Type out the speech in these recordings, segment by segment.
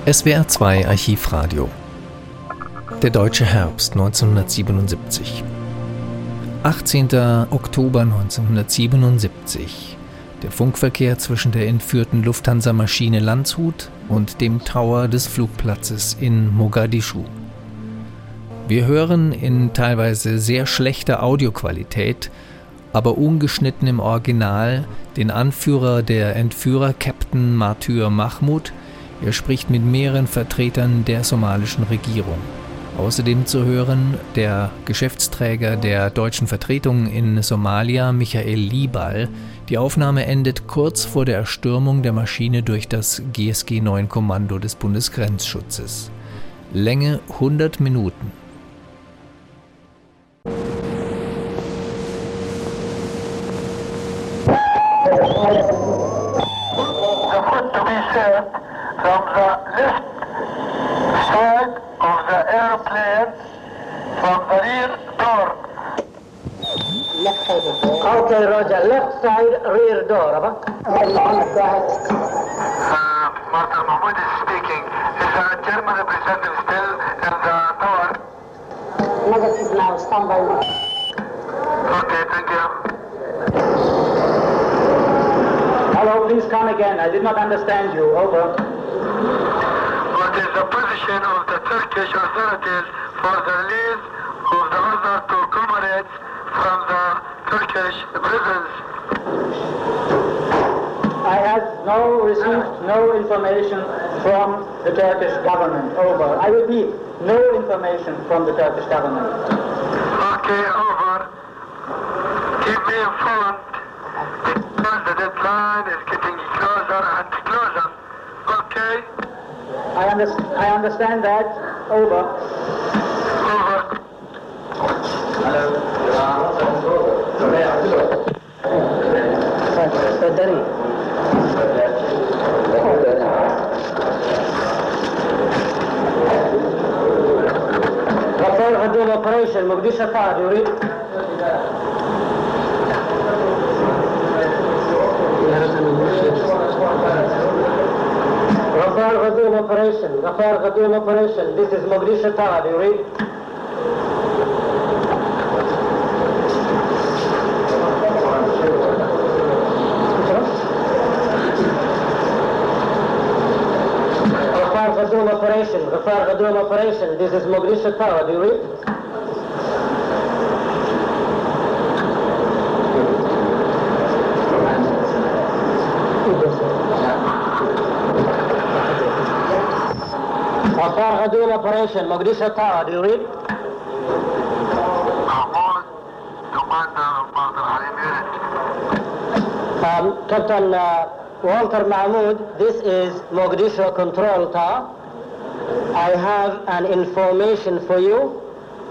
SWR 2 Archivradio. Der deutsche Herbst 1977. 18. Oktober 1977. Der Funkverkehr zwischen der entführten Lufthansa-Maschine Landshut und dem Tower des Flugplatzes in Mogadischu. Wir hören in teilweise sehr schlechter Audioqualität, aber ungeschnitten im Original, den Anführer der Entführer, Captain Martyr Mahmud. Er spricht mit mehreren Vertretern der somalischen Regierung. Außerdem zu hören der Geschäftsträger der deutschen Vertretung in Somalia, Michael Liebal. Die Aufnahme endet kurz vor der Erstürmung der Maschine durch das GSG-9-Kommando des Bundesgrenzschutzes. Länge 100 Minuten. From the left side of the airplane, from the rear door. Left side of the door. Okay, Roger. Left side, rear door. Go ahead. Master Mahmoud is speaking. Is the German representative still in the tower? Negative now. Stand by. Okay, thank you. Hello, please come again. I did not understand you. Over. What is the position of the Turkish authorities for the release of the other two comrades from the Turkish prisons? I have received no information from the Turkish government. Over. I repeat, no information from the Turkish government. Okay, over. Keep me informed. Because the deadline is getting closer and closer. Okay? I understand that. Over. Over. Rafale Ghadoum operation, Mogadishu Tower, you read? Rafale Ghadoum operation, this is Mogadishu Tower, do you read? Rafale Ghadoum operation, this is Mogadishu Tower, do you read? Rafale Ghadoum operation, Mogadishu Tower, do you read? Mahmoud, Commander of Badr Halim unit. Captain Walter Mahmoud, this is Mogadishu Control Tower. I have an information for you.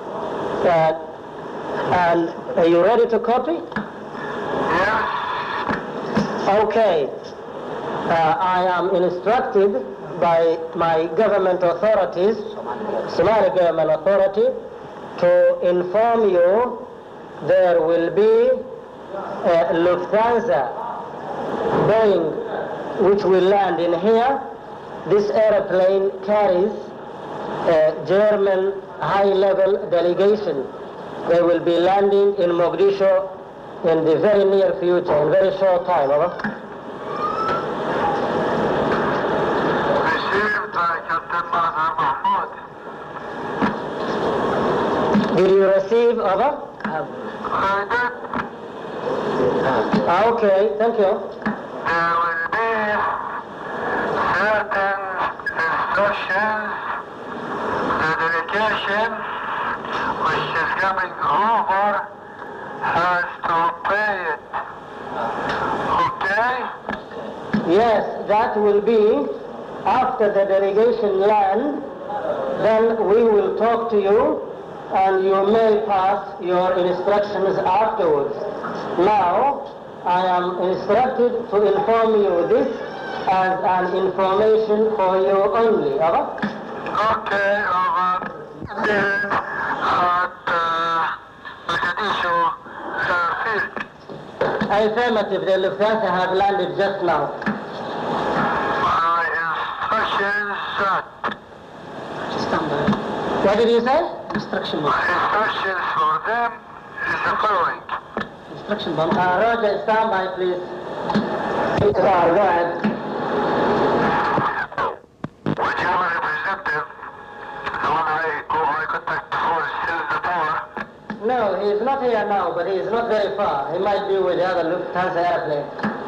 And are you ready to copy? Yes. Okay. I am instructed by my government authorities, Somali government authority, to inform you there will be a Lufthansa Boeing which will land in here. This airplane carries a German high-level delegation. They will be landing in Mogadishu in the very near future, in very short time. Over. Received by Captain Maher Mahmoud. Did you receive? Over? I did. Okay, thank you. There will be certain instructions. The delegation which is coming over has to pay it. Okay? Yes, that will be after the delegation land. Then we will talk to you and you may pass your instructions afterwards. Now, I am instructed to inform you this as an information for you only. Over? Okay, over. At Mogadishu field. Affirmative, the Lufthansa have landed just now. My instructions shot. What did you say? Instruction bomb. Instructions for them is the following. Instruction bomb. Roger, stand by, please. Go ahead. Would you have a representative, the one who I contact before, still in the tower? No, he is not here now, but he is not very far. He might be with the other Lufthansa airplane.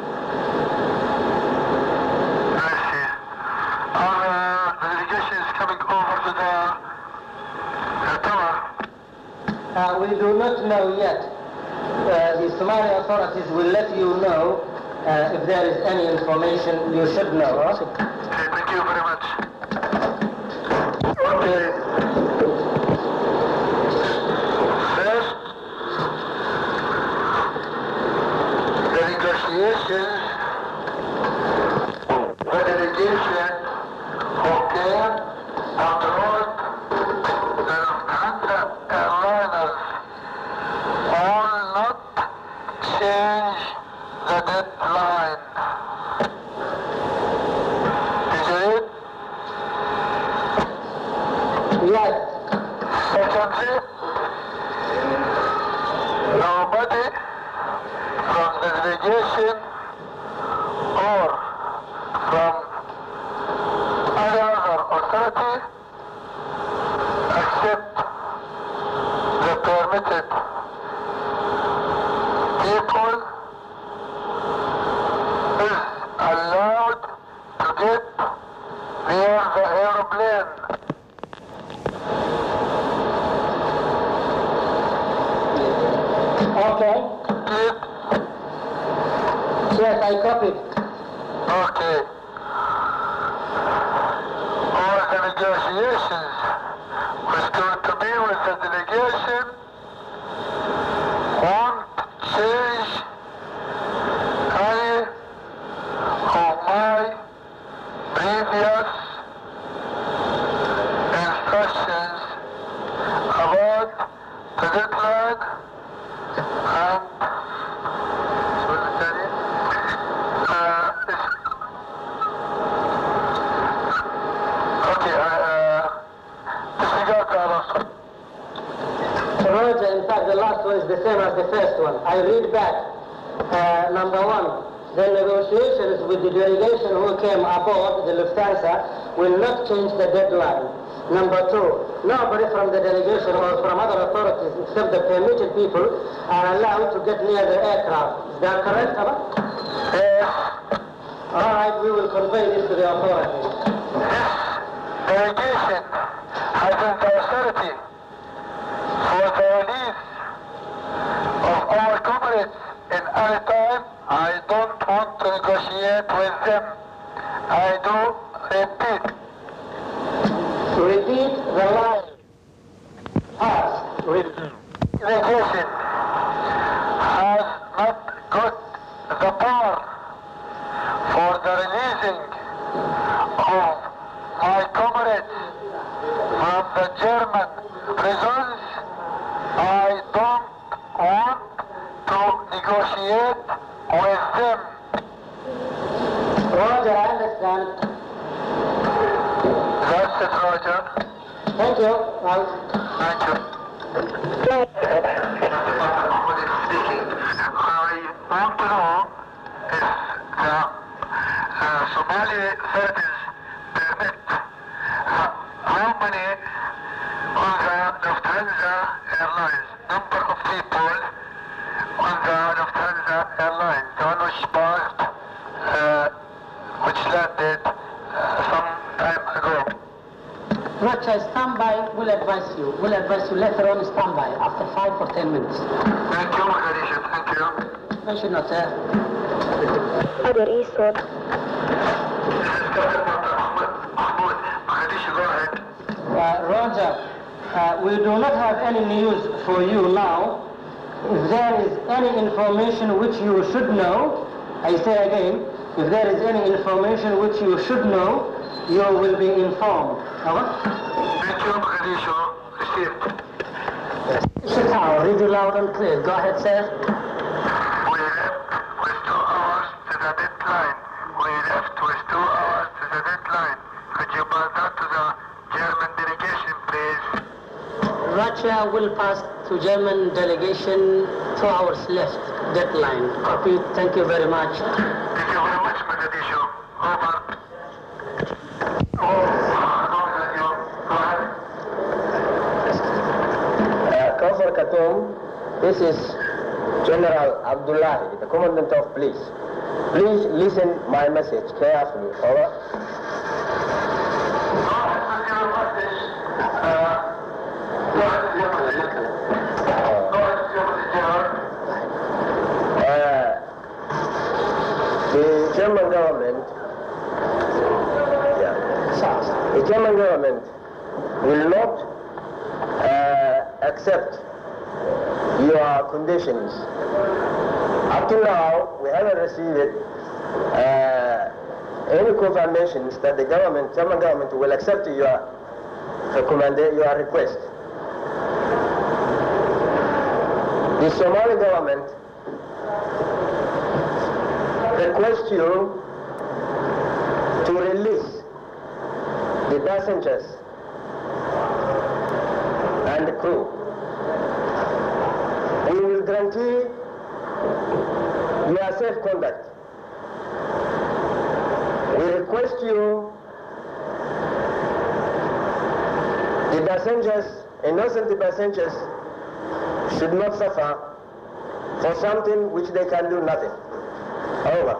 I see. Are the delegations coming over to the tower? We do not know yet. The Somali authorities will let you know if there is any information you should know. Okay, thank you very much. Okay. First, the negotiations, the delegation who came abroad, the Lufthansa airliners all not change the deadline. Is it? Yes. Secondly, nobody from the delegation or from any other authority except the permitted people is allowed to get near the aeroplane. Okay. Did Yes, I copied. Okay. All the negotiations was going to be with the delegation won't change any of my previous instructions about the deadline and Roger, in fact, the last one is the same as the first one. I read back. Number one, the negotiations with the delegation who came aboard the Lufthansa will not change the deadline. Number two, nobody from the delegation or from other authorities except the permitted people are allowed to get near the aircraft. Is that correct, Abba? yes. All right, we will convey this to the authorities. Delegation has the authority for the release of our comrades in any time. I don't want to negotiate with them. I do repeat. Repeat the line. Pass. Delegation has not got the power for the releasing of my comrades from the German prisons. I don't want to negotiate with them. Roger, I understand. That's it, Roger. Thank you. Thank you. Speaking. I want to know if the Somali authorities permit how many on the Lufthansa Airlines, number of people on the Lufthansa Airlines, the one which passed, which landed some time ago. Roger, stand by. We'll advise you. We'll advise you later on. Stand by after 5 or 10 minutes. Thank you, Mogadishu. Thank you. Mention not, sir. Other Eastwood. This is Captain Mahmoud. Mogadishu, go ahead. Roger, we do not have any news for you now. If there is any information which you should know, I say again, if there is any information which you should know, you will be informed. Thank you, Mogadishu. Received. Tower, read it loud and clear. Go ahead, sir. We left with 2 hours to the deadline. We left with 2 hours to the deadline. Could you pass that? Russia will pass to German delegation 2 hours left deadline. Copy. Thank you very much. Thank you very much, Mogadishu. Over. Kafar Khartoum, this is General Abdullahi, the Commandant of Police. Please listen my message carefully. Over. The German government will not accept your conditions. Up to now, we haven't received any confirmations that the German government will accept your request. The Somali government requests you to release the passengers and the crew. We will guarantee your safe conduct. We request you, the passengers, innocent passengers, should not suffer for something which they can do nothing. Over.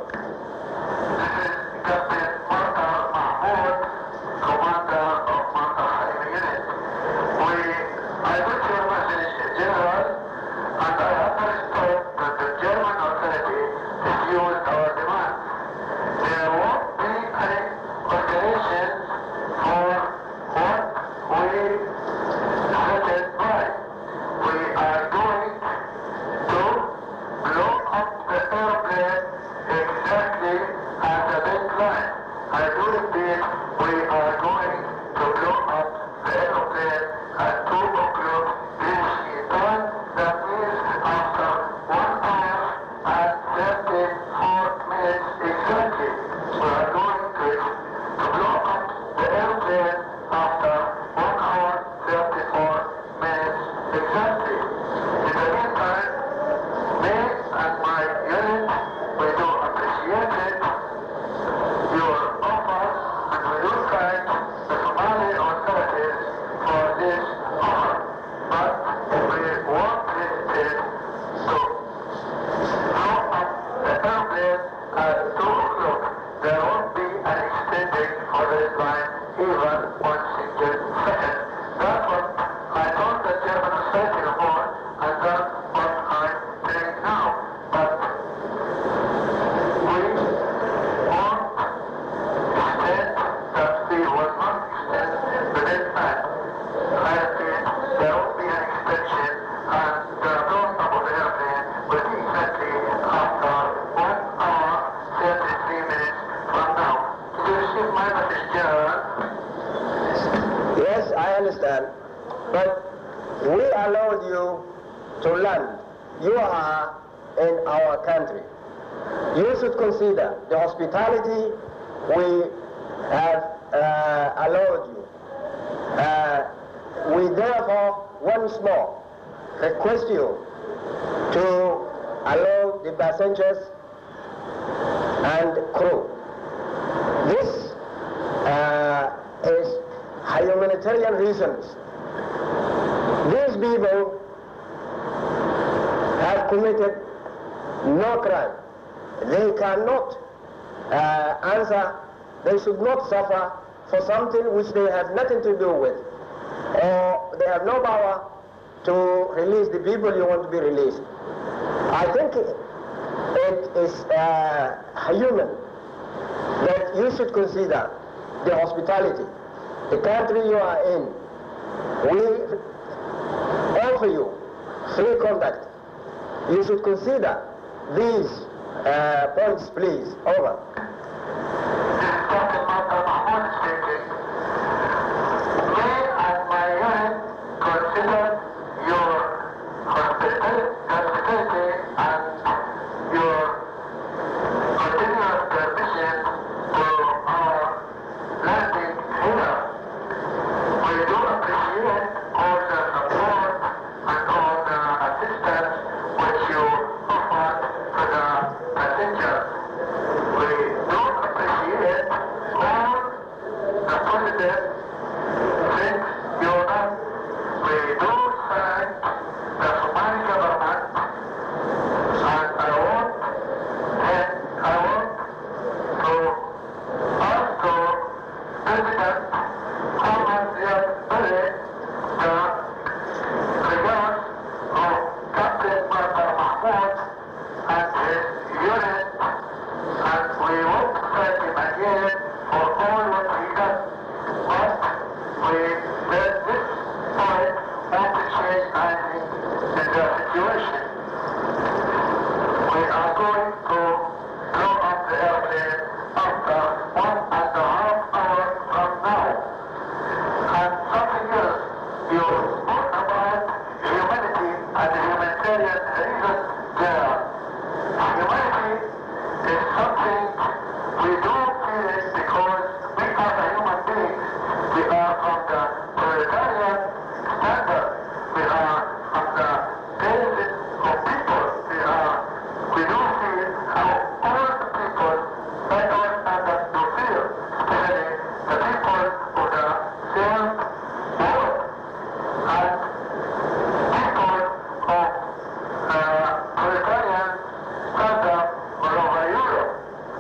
Yes, I understand. But we allowed you to land. You are in our country. You should consider the hospitality we have allowed you. We therefore once more request you to allow the passengers and crew. This is humanitarian reasons. These people have committed no crime. They cannot answer, they should not suffer for something which they have nothing to do with. Or they have no power to release the people you want to be released. I think it is human that you should consider the hospitality, the country you are in. We offer you free conduct. You should consider these points, please. Over. Consider your hospitality and your continuous permission to our landing here. We do appreciate all the support this, since you're not, we do thank the Somali government, and I want to ask the President Ahmed Ziyad Barre the regards of Captain Bakr Mahmoud and his unit, and we want to thank him again for all what he done. But we, at this point, want to change anything in the situation. We are going to blow up the airplane after 1.5 hours from now. And something else, you spoke about humanity and the humanitarian reasons there. Humanity is something we do feel it because we are the human beings. We are from the proletarian standard. We are from the basis of people. We do feel how all the people that our standard do feel, especially the people of the same world and people of proletarian standard all over Europe.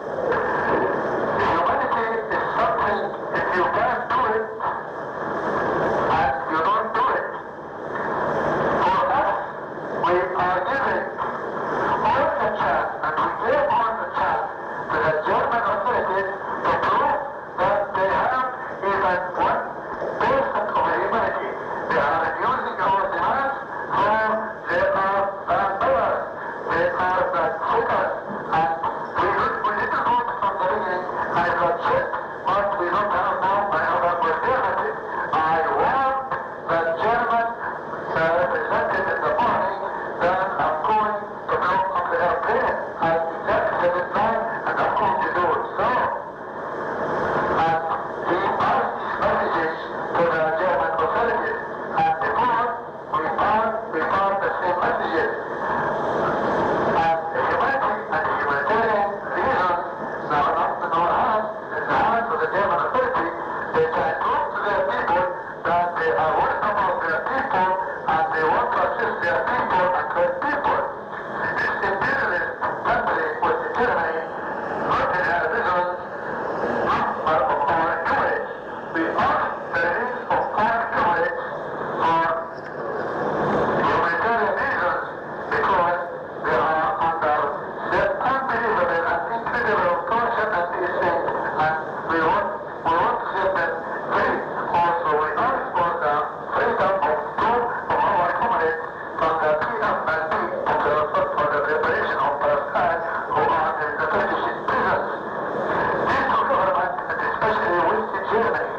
Humanity is something, if you can't do it, and you don't do it. For us, we are giving all the chance, and we gave all the chance to the German authorities to prove that they have even 1% of humanity. They are refusing our demands, so they are bad beggars. They are bad cheaters. And we didn't vote from the beginning, and it was checked, but we don't have now another alternative. I want the German represented in the morning that I'm going to blow up the airplane. I said it now, and I'm going to do it. So, and he passed these messages to the German authorities. And before, we found the same messages. And the humanity and the humanitarian reasons, now not in our hands, in the hands of the German authority, they can prove to their people that they are worried about their people and they want to assist their people and their people. This imperialist country was determined not in our visions, but of our courage. We ask the release of our courage for humanitarian reasons because they are under the unbelievable and incredible torture and these things, and we want to set them free. Also, we ask for the freedom of two of our comrades from the PFLP for the preparation of Palestine who are in the Turkish prisons. These two governments, and especially West Germany,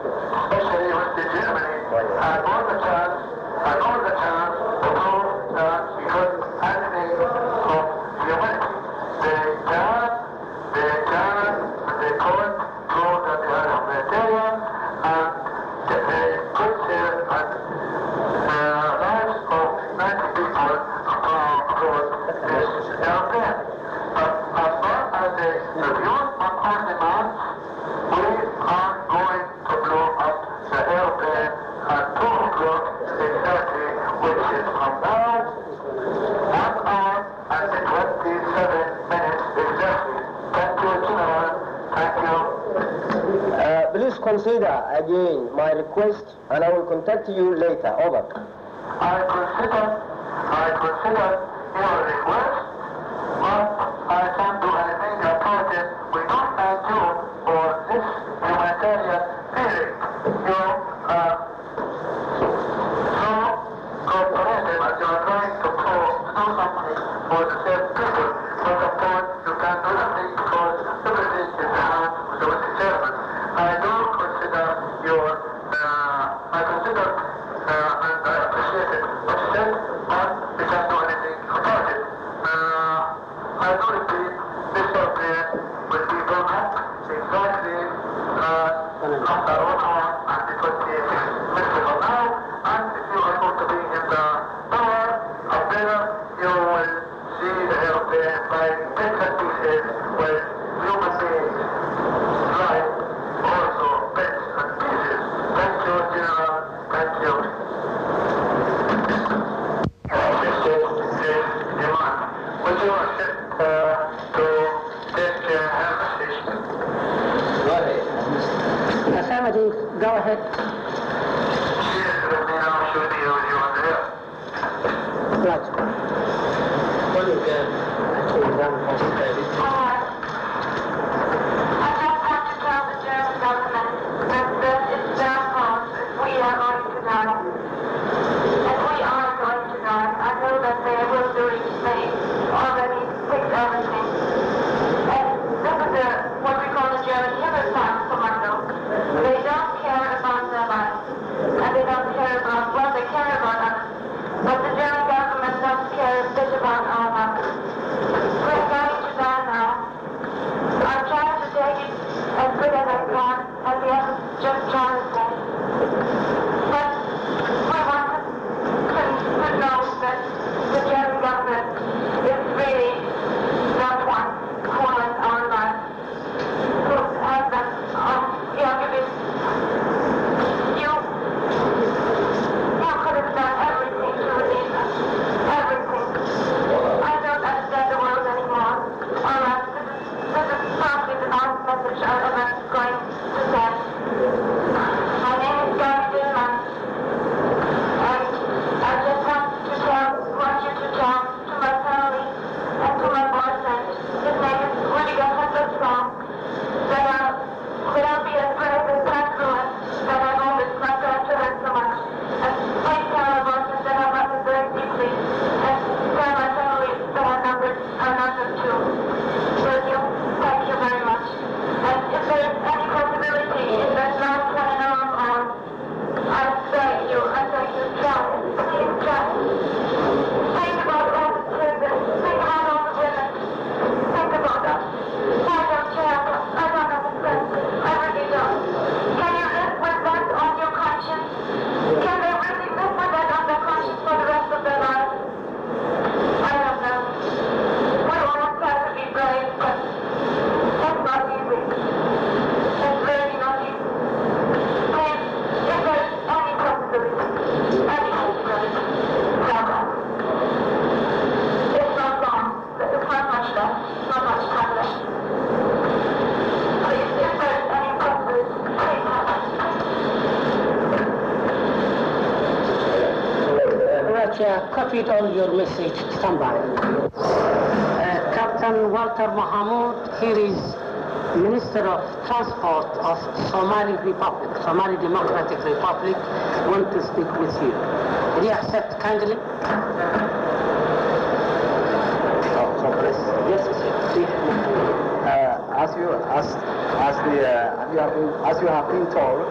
had all the chance to prove that we could anything of humanity. They can, and they could prove that they are humanitarian and that they could save lives of 90 people across this airplane. But as far as they refuse on our demands, we are going to blow up the airplane at 2 o'clock exactly, which is from now, 1 hour and 27 minutes exactly. Thank you, General. Thank you. Please consider again my request and I will contact you later. Over. I consider your request, but I can't do anything about it. We don't thank you for this humanitarian feeling. You are so cooperative and you are trying to do something for the same people. But of course, you can't do nothing because everything is in the hands of the West German. I do consider and I appreciate it, what you said, but we can't do anything about it. I do repeat, this airplane will be blown up exactly after 1 hour and 26 minutes from now, and if you are going to be in the tower up there, you will see the airplane by bits and pieces with human beings, like also bits and pieces. have a statement. Go ahead. Affirmative. Go ahead. Yes, let me know should be with you on there. Right. Well, you can actually run possibility. I just have to tell the German government that it's their fault if we are going to die. And we are going to die. I know that they will do it. They already fixed everything. And this is what we call the German Himmelfahrtskommando. They don't care about their lives. And they don't care about, well, they care about us. But the German government doesn't care a bit about our lives. We're going to die now. I'm trying to take it as good as I can, and the others just trying to say. But we want to know that the German government is really that one who has our lives, who has that, you could have done everything to release us. Everything. I don't understand the world anymore. All right, this is probably the last message I'm ever going to send. My name is Gary Dillman, and I just want you to tell to my family and to my boyfriend, his name is Rüdiger Hitlerström, that I'll be as brave as possible, and that I know it's not going to hurt so much. And please tell my boyfriend that I love him very deeply, and tell my family that I love them too. Will you? Thank you very much. And if there is any possibility in that last 20 hours on, I beg you, try. Please try. Think about all the children. Think about all the women. Think about us. I don't care. I don't understand. I really don't. Can you live with that on your conscience? Can they really live with that on their conscience for the rest of their lives? I don't know. We all try to be brave, but that's not easy. It's really not easy. Please, if there's any possibility, tell us. It's not long. It's not much left. Not much time left. Please, if there's any possibility, please tell us. Russia copied all your message. Stand by. Captain Walter Mohamud, here is Minister of Transport of Somali Republic, Somali Democratic Republic, want to speak with you. Will you accept kindly? Yes, sir. As you have been told,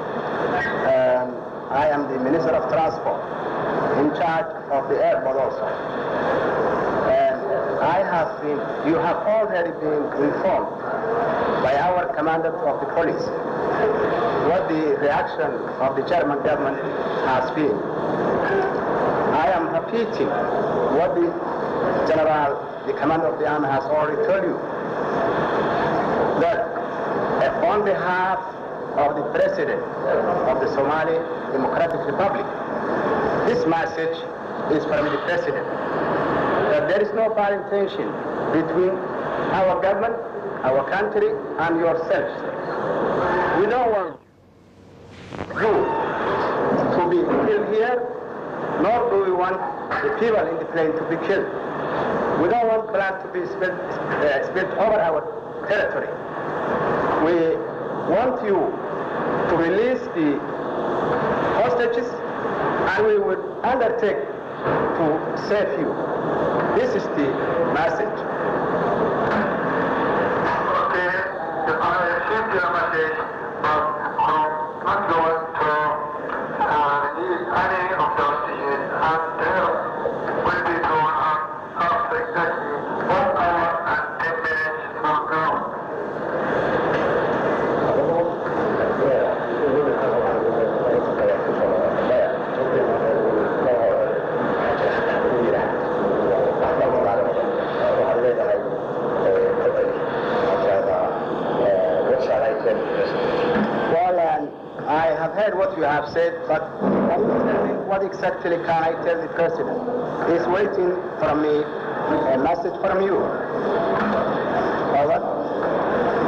I am the Minister of Transport, in charge of the airport also. And you have already been informed by our commander of the police what the reaction of the German government has been. I am repeating what the commander of the army has already told you, that on behalf of the president of the Somali Democratic Republic, this message is from the president, that there is no bad intention between our government, our country, and yourselves. We don't want you to be killed here, nor do we want the people in the plane to be killed. We don't want blood to be spilled over our territory. We want you to release the hostages, and we will undertake to save you. This is the message. Okay, I received your message, but I'm not going to release any of the hostages until will be drawn up after exactly 1 hour and 10 minutes from now. I have heard what you have said, but can you tell me what exactly can I tell the president? He's waiting from me a message from you. Over.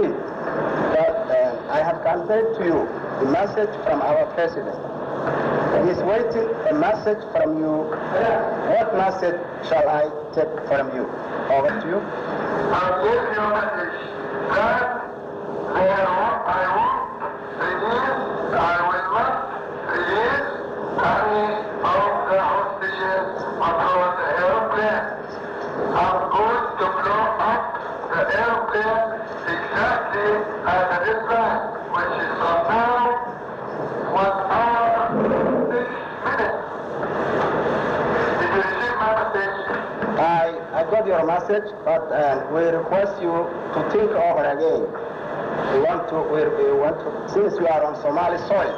agreed that I have conveyed to you the message from our president. He's waiting a message from you. What message shall I take from you? Over to you. I'll give you a message that I won't release, I will not release any of the hostages until the airplane. I'm going to blow up the airplane exactly at the deadline, which is from now 1 hour 6 minutes. Did you receive my message? I got your message, but we request you to think over again. We want to, since we are on Somali soil,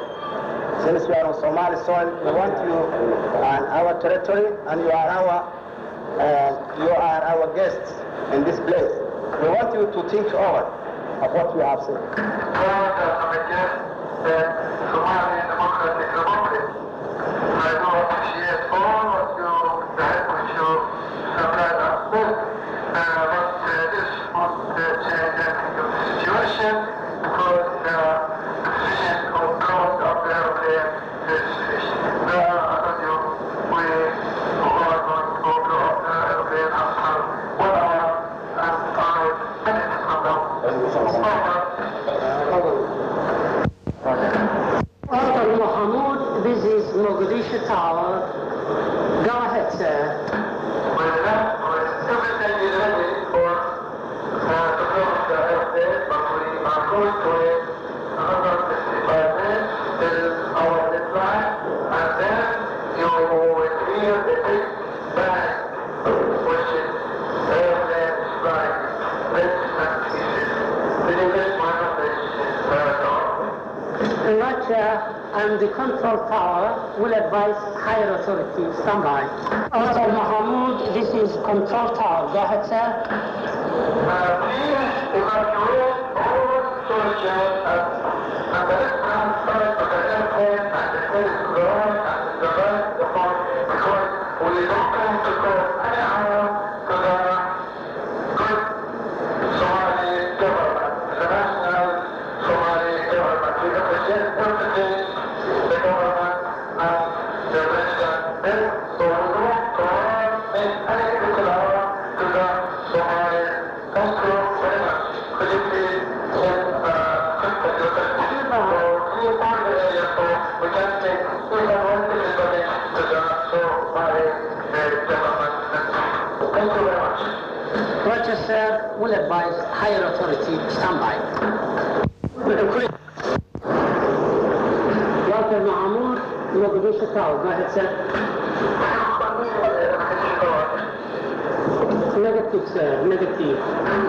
we want you on our territory, and you are our guests in this place. We want you to think over of what we have said. Somali Democratic Republic. I do appreciate all what you said, which you supplied us with, but this won't change anything of the situation, because the decision of close of the airplane is finished. I told you, we are going to blow up the airplane after 1 hour and 5 minutes from now. Dr. Mohamud, this is Mogadishu Tower. Go ahead, sir. Everything is ready for to close the airplane, but we are going to wait another 55 minutes till our deadline, and then you will hear the big bang, which is the airplane is flying bits and pieces. Did you get my message, Roger, and the control tower will advise higher authorities. Stand by. Dr. Mohamud, this is control tower. Go ahead, sir. Please evacuate all soldiers and the left-hand side of the airplane and the place to the right and the right to the front, because we don't want to go any harm to the good Somali government, the national Somali government. We appreciate everything the government and the president did, so we don't make any critical harm to the Somali. Thank you very much. Could you please send your question or clear part of the area so we can take even one delivery to the Somali government? Thank you very much. Roger, sir, will advise higher authority. Stand by. Dr. Mohamud, Mogadishu Tower. Go ahead, sir. Negative, sir. Negative.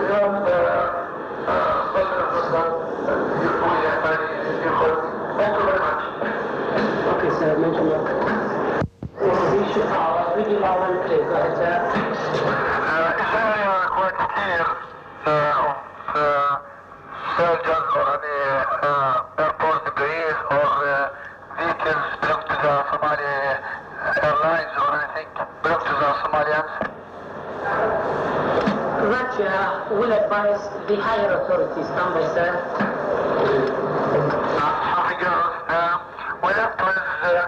Thank you very much. Okay, sir. Mention that. Mogadishu Tower. Really loud and clear. Go ahead, sir. Is there any request here of surgeons or any airport debris or vehicles belong to the Somali Airlines or anything belong to the Somalians? Roger will advise the higher authorities. Stand by, sir. Something else. We left with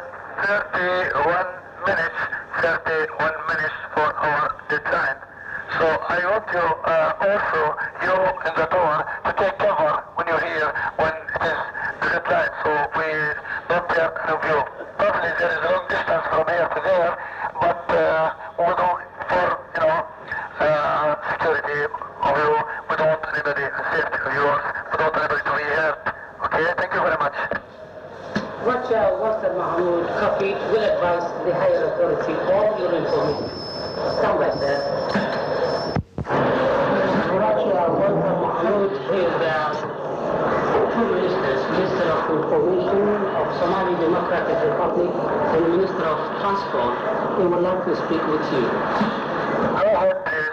31 minutes for our deadline. So I want to also, you in the tower, to take cover when you're here, when it is the deadline, so we don't have any of you. Probably there is a long distance from here to there, but we do for, security of you, we don't want anybody, safety of yours, we don't want anybody to be hurt. Okay, thank you very much. Roger, Dr. Mohamud, copy, will advise the higher authority all your information. Stand by, sir. Roger, Dr. Mohamud is two ministers, Minister of Information of Somali Democratic Republic and Minister of Transport, who would like to speak with you. Go ahead, please.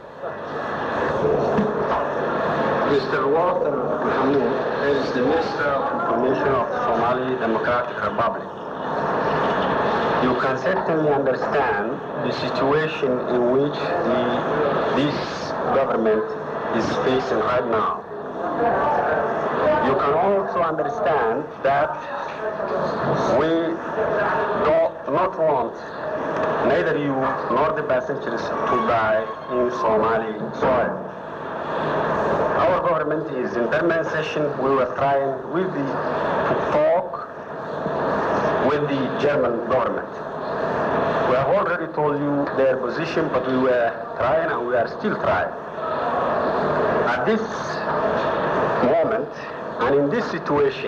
Mr. Walter Mohamud is the Minister of Information of Somali Democratic Republic. You can certainly understand the situation in which this government is facing right now. You can also understand that we do not want neither you nor the passengers to die in Somali soil. Our government is in permanent session. We were trying to talk with the German government. We have already told you their position, but we were trying and we are still trying. At this moment and in this situation,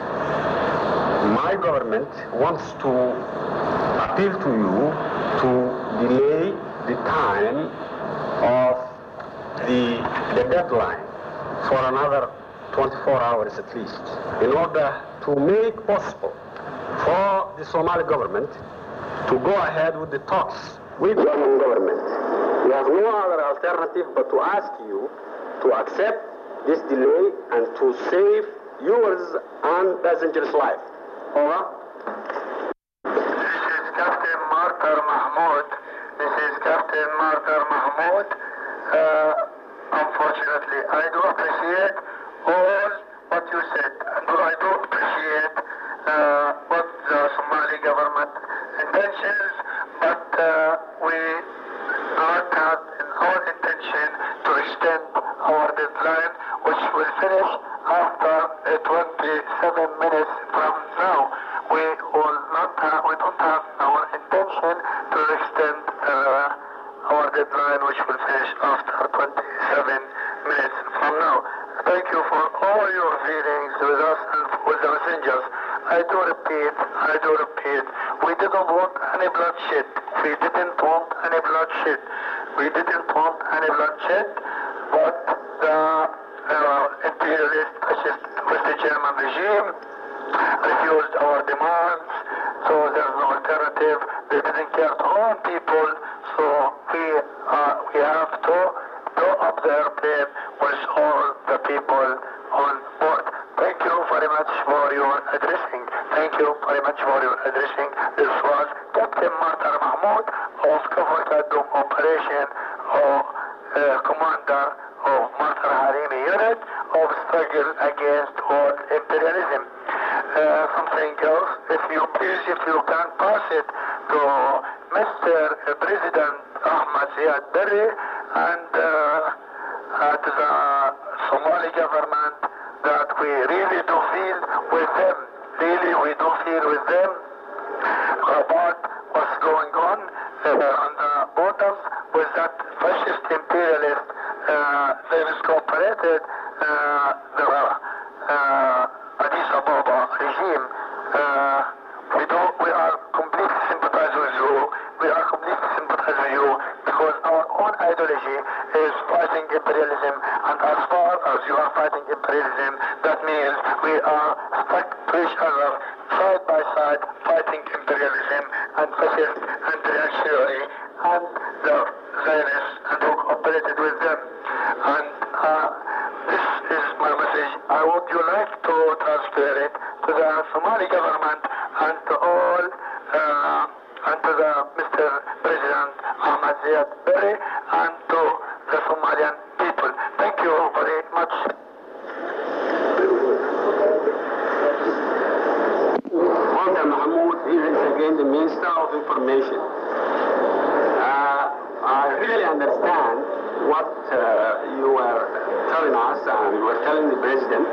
my government wants to appeal to you to delay the time of the deadline for another 24 hours at least, in order to make possible for the Somali government to go ahead with the talks with the German government. We have no other alternative but to ask you to accept this delay and to save yours and passengers' life. Over. This is Captain Martar Mahmoud. Unfortunately, I do appreciate all what you said, and I do appreciate what the Somali government intentions, but we do not have in our intention to extend our deadline, which will finish after 27 minutes from now. We don't have our intention to extend our deadline, which will finish after 27 minutes from now. Thank you for all your feelings with us and with the messengers. I do repeat, we didn't want any bloodshed. We didn't want any bloodshed, but the imperialist fascist West German regime refused our demands, so there's no alternative. They didn't care to own people, so we have to blow up the airplane with all the people on board. Thank you very much for your addressing. This was Captain Martar Mahmoud of Kafur Kadum Operation, Commander of Martar Harimi Unit of Struggle Against World Imperialism. Something else, if you can pass it to Mr. President Ahmad Ziad Barre and to the Somali government, that we really do feel with them. About what's going on the borders with that fascist imperialist, they've cooperated the Addis Ababa regime. We are completely sympathize with you because our own ideology is fighting imperialism, and as far as you are fighting imperialism, that means we are stuck to each other side by side fighting imperialism and fascist and reactionary and the Zionists, and who cooperated with them. And this is my message. I would you like to transfer it to the Somali government and to all and to the Mr. President Ahmad Ziad Barre and to the Somalian people. Thank you very much. Walter Mahmoud, here is again the Minister of Information. I really understand what you were telling us and you were telling the President.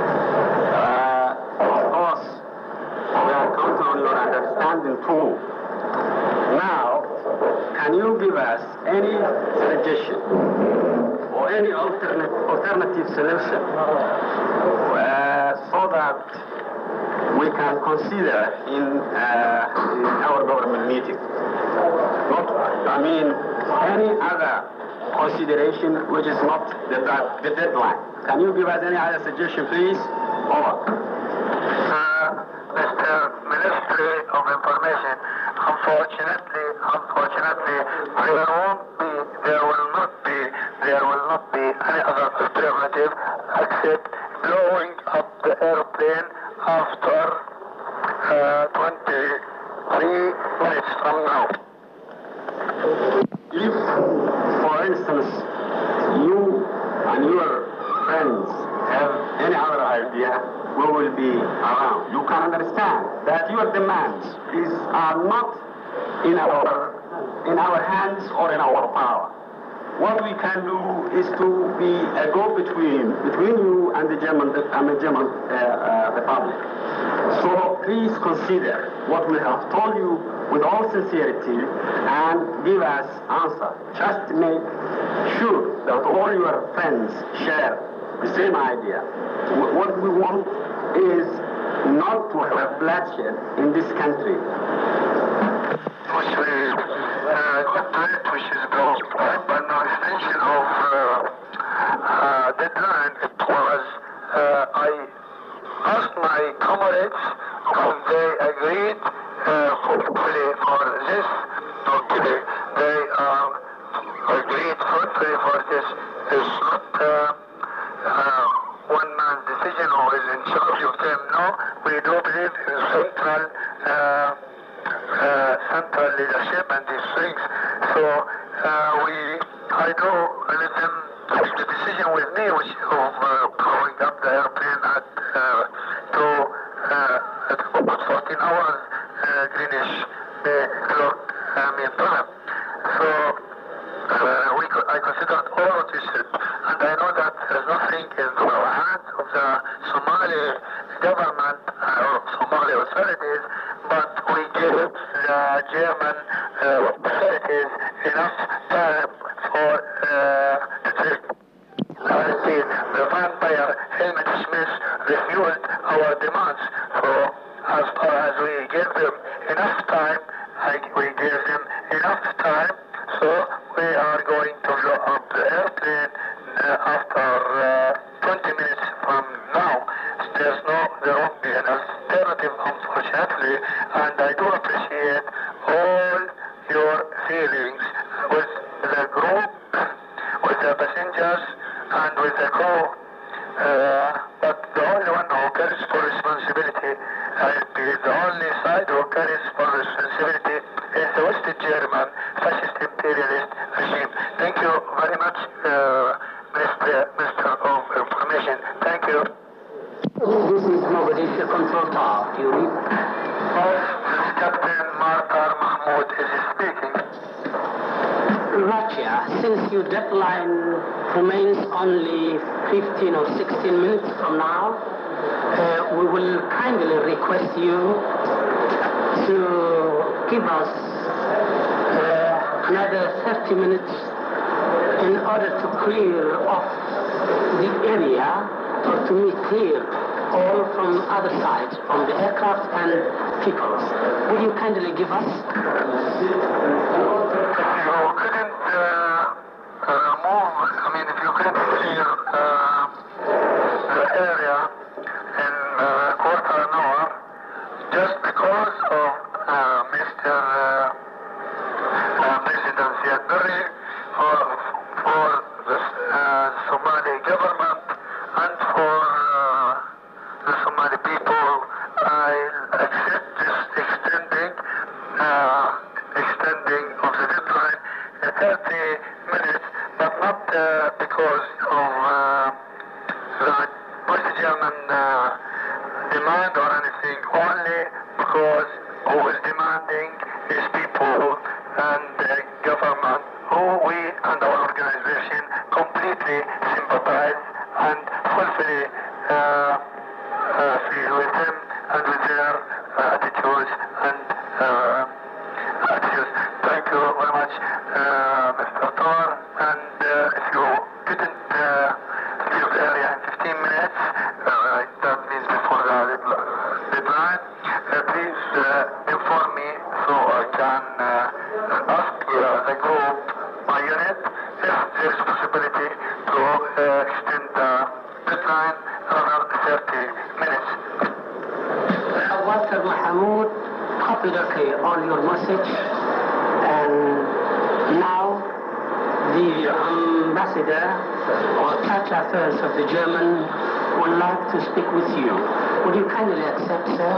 Of course, we are counting on your understanding too. Now, can you give us any suggestion or any alternative solution so that we can consider in our government meeting? Any other consideration which is not the deadline. Can you give us any other suggestion, please? Over. Mr. Ministry of Information, unfortunately, there will not be any other alternative except blowing up the airplane after 23 minutes from now. If, for instance, you and your friends have idea, we will be around. You can understand that your demands are not in our hands or in our power. What we can do is to be a go-between between you and the German Republic. So please consider what we have told you with all sincerity and give us answer. Just make sure that all your friends share the same idea. What we want is not to have bloodshed in this country. Which is built by no extension of deadline. It was, I asked my comrades and they agreed hopefully for this. Okay, they agreed hopefully for this. It's not one man's decision or is in charge of them. No, we do believe in central leadership and these things. So I do let them take the decision with me, which of going up the airplane at 14 hours Greenwich clock time. So I considered all of this, and I know that there's nothing in the hands of the Somali government or Somali authorities, but we give the German authorities enough time for to take. The vampire Helmut Schmidt refused our demands. So as far as we gave them enough time, we gave them enough time. So we are going to blow up the airplane after 20 minutes from now. There won't be an alternative, unfortunately, and I do appreciate all your feelings with the group, with the passengers, and with the crew. But the only one who carries for responsibility, the only side who carries for responsibility is the West German fascist imperialist regime. Thank you very much, Minister of Information. Thank you. This is Mogadishu Control Tower. Do you read? Captain Martar Mahmoud is speaking. Russia, since your deadline remains only 15 or 16 minutes from now, we will kindly request you to give us another 30 minutes in order to clear off the area or to make clear all from other sides, from the aircraft and people. Will you kindly give us? If you couldn't clear the area in a quarter an hour, just because of Mr. President Ziad Barre, for the Somali government and for the Somali people, I accept this extending of the deadline 30 minutes, but not because of the West German demand or anything, only because who is demanding is people and the government who we and our organization completely sympathize and fully feel with them and with their attitudes and attitudes. Thank you very much, Mr. Tor, and if you couldn't leave the area in 15 minutes, that means before the deadline, please inform me so I can ask the group, my unit, if there is a possibility to extend the deadline another 30 minutes. Walter Mahmoud, popularly on your message, and now the ambassador or Church Affairs of the German would like to speak with you. Would you kindly accept, sir?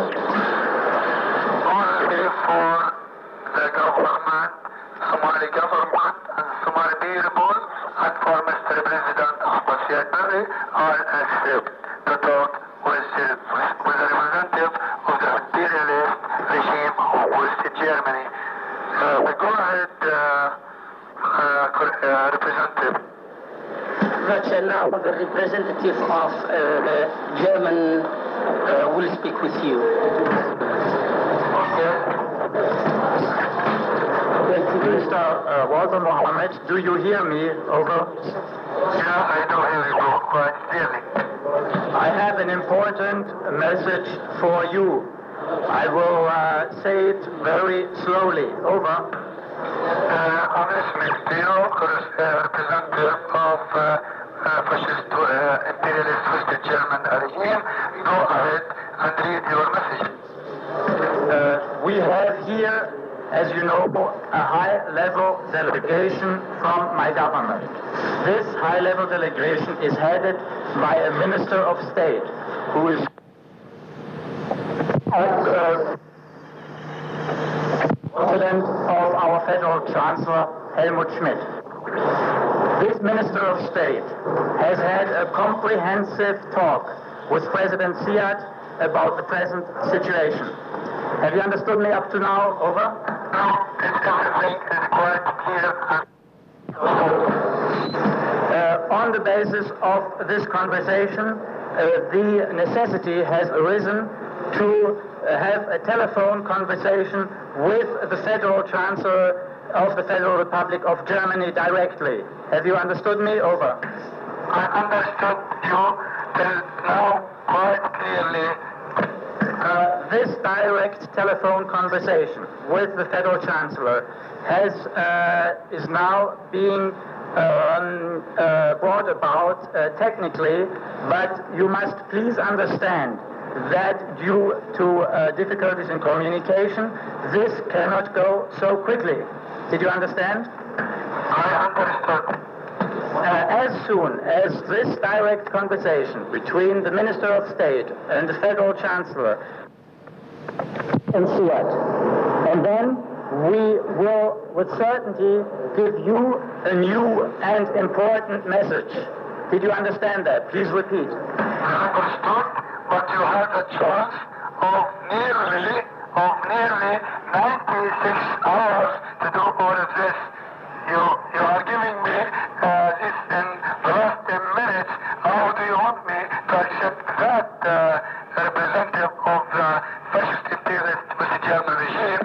Only for the government, Somali government and Somali people, and for Mr. President Ahmed Ziad Barre, I accept to talk with a representative of the imperialist regime of West Germany. Go ahead, Representative. Now the representative of the German will speak with you. Okay. Mr. Walter Mohammed, do you hear me? Over. Yeah, I do hear you quite clearly. I have an important message for you. I will say it very slowly. Over. I'm listening to you, representative of fascist imperialist West German regime. Go ahead and read your message. We have here, as you know, a high-level delegation from my government. This high-level delegation is headed by a Minister of State who is President of our Federal Chancellor, Helmut Schmidt. This Minister of State has had a comprehensive talk with President Ziad about the present situation. Have you understood me up to now? Over. Everything is quite clear. On the basis of this conversation, the necessity has arisen to have a telephone conversation with the Federal Chancellor of the Federal Republic of Germany directly. Have you understood me? Over. I understood you till now quite clearly. This direct telephone conversation with the Federal Chancellor is now being brought about technically, but you must please understand that due to difficulties in communication, this cannot go so quickly. Did you understand? I understood. As soon as this direct conversation between the Minister of State and the Federal Chancellor and Ziad, and then we will with certainty give you a new and important message. Did you understand that? Please repeat. I understood, but you had a chance of nearly 96 hours to do all of this. You are giving me this in the last 10 minutes. How do you want me to accept that representative of the fascist imperialist West German regime?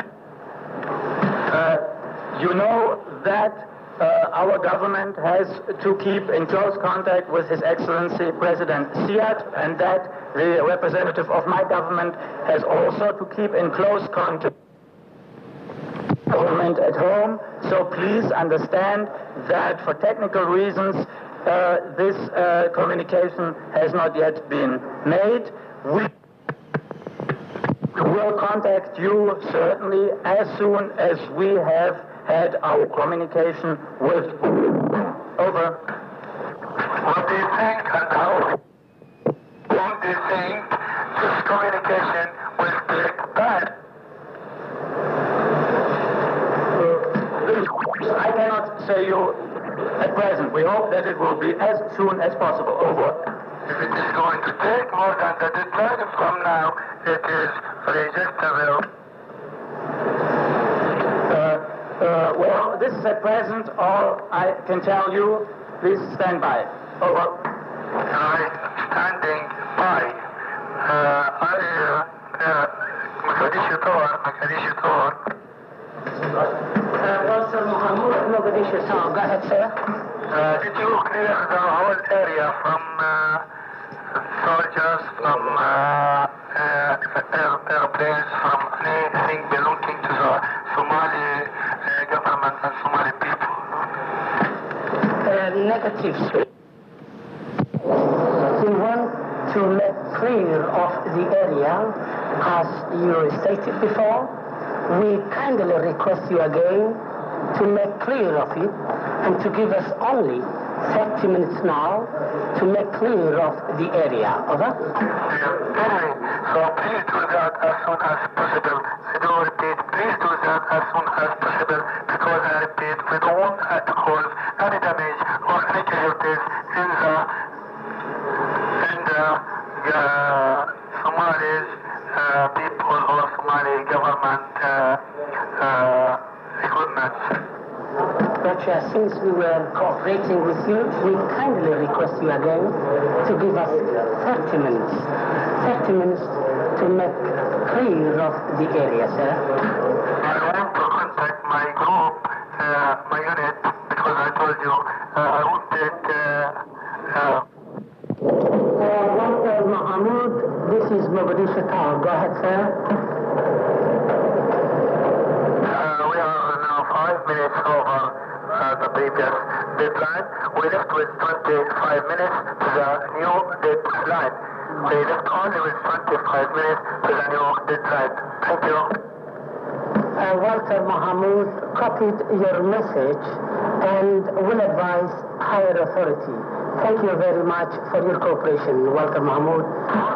You know that our government has to keep in close contact with His Excellency President Ziad, and that the representative of my government has also to keep in close contact with the government at home. So please understand that for technical reasons, this communication has not yet been made. We will contact you certainly as soon as we have had our communication with you. Over. What do you think and how long do you think this communication will take time? I cannot say you at present. We hope that it will be as soon as possible. Over. If it is going to take more than the deadline from now, it is rejectable. Well, this is at present all I can tell you. Please stand by. Over. I standing by. Walter Mohammed, Mogadishu, go ahead, sir. Did you clear the whole area from soldiers, from airplanes, from anything belonging to the Somali government and Somali people? Negative, sir. We want to make clear of the area, as you stated before. We kindly request you again to make clear of it and to give us only 30 minutes now to make clear of the area. Over? So please do that as soon as possible. I do repeat, please do that as soon as possible, because I repeat, we don't want to cause any damage or any casualties in the Somali people or Somali government recruitment. Roger, since we were cooperating with you, we kindly request you again to give us 30 minutes. 30 minutes to make clear of the area, sir. I want to contact my group, my unit, because I told you I won't take... Walter Mahmoud, this is Mogadishu Tower. Go ahead, sir. We are now 5 minutes over the previous deadline. We left with 25 minutes to the new deadline. We left only with 25 minutes to the new deadline. Thank you. Walter Mahmoud copied your message and will advise higher authority. Thank you very much for your cooperation, Walter Mahmoud.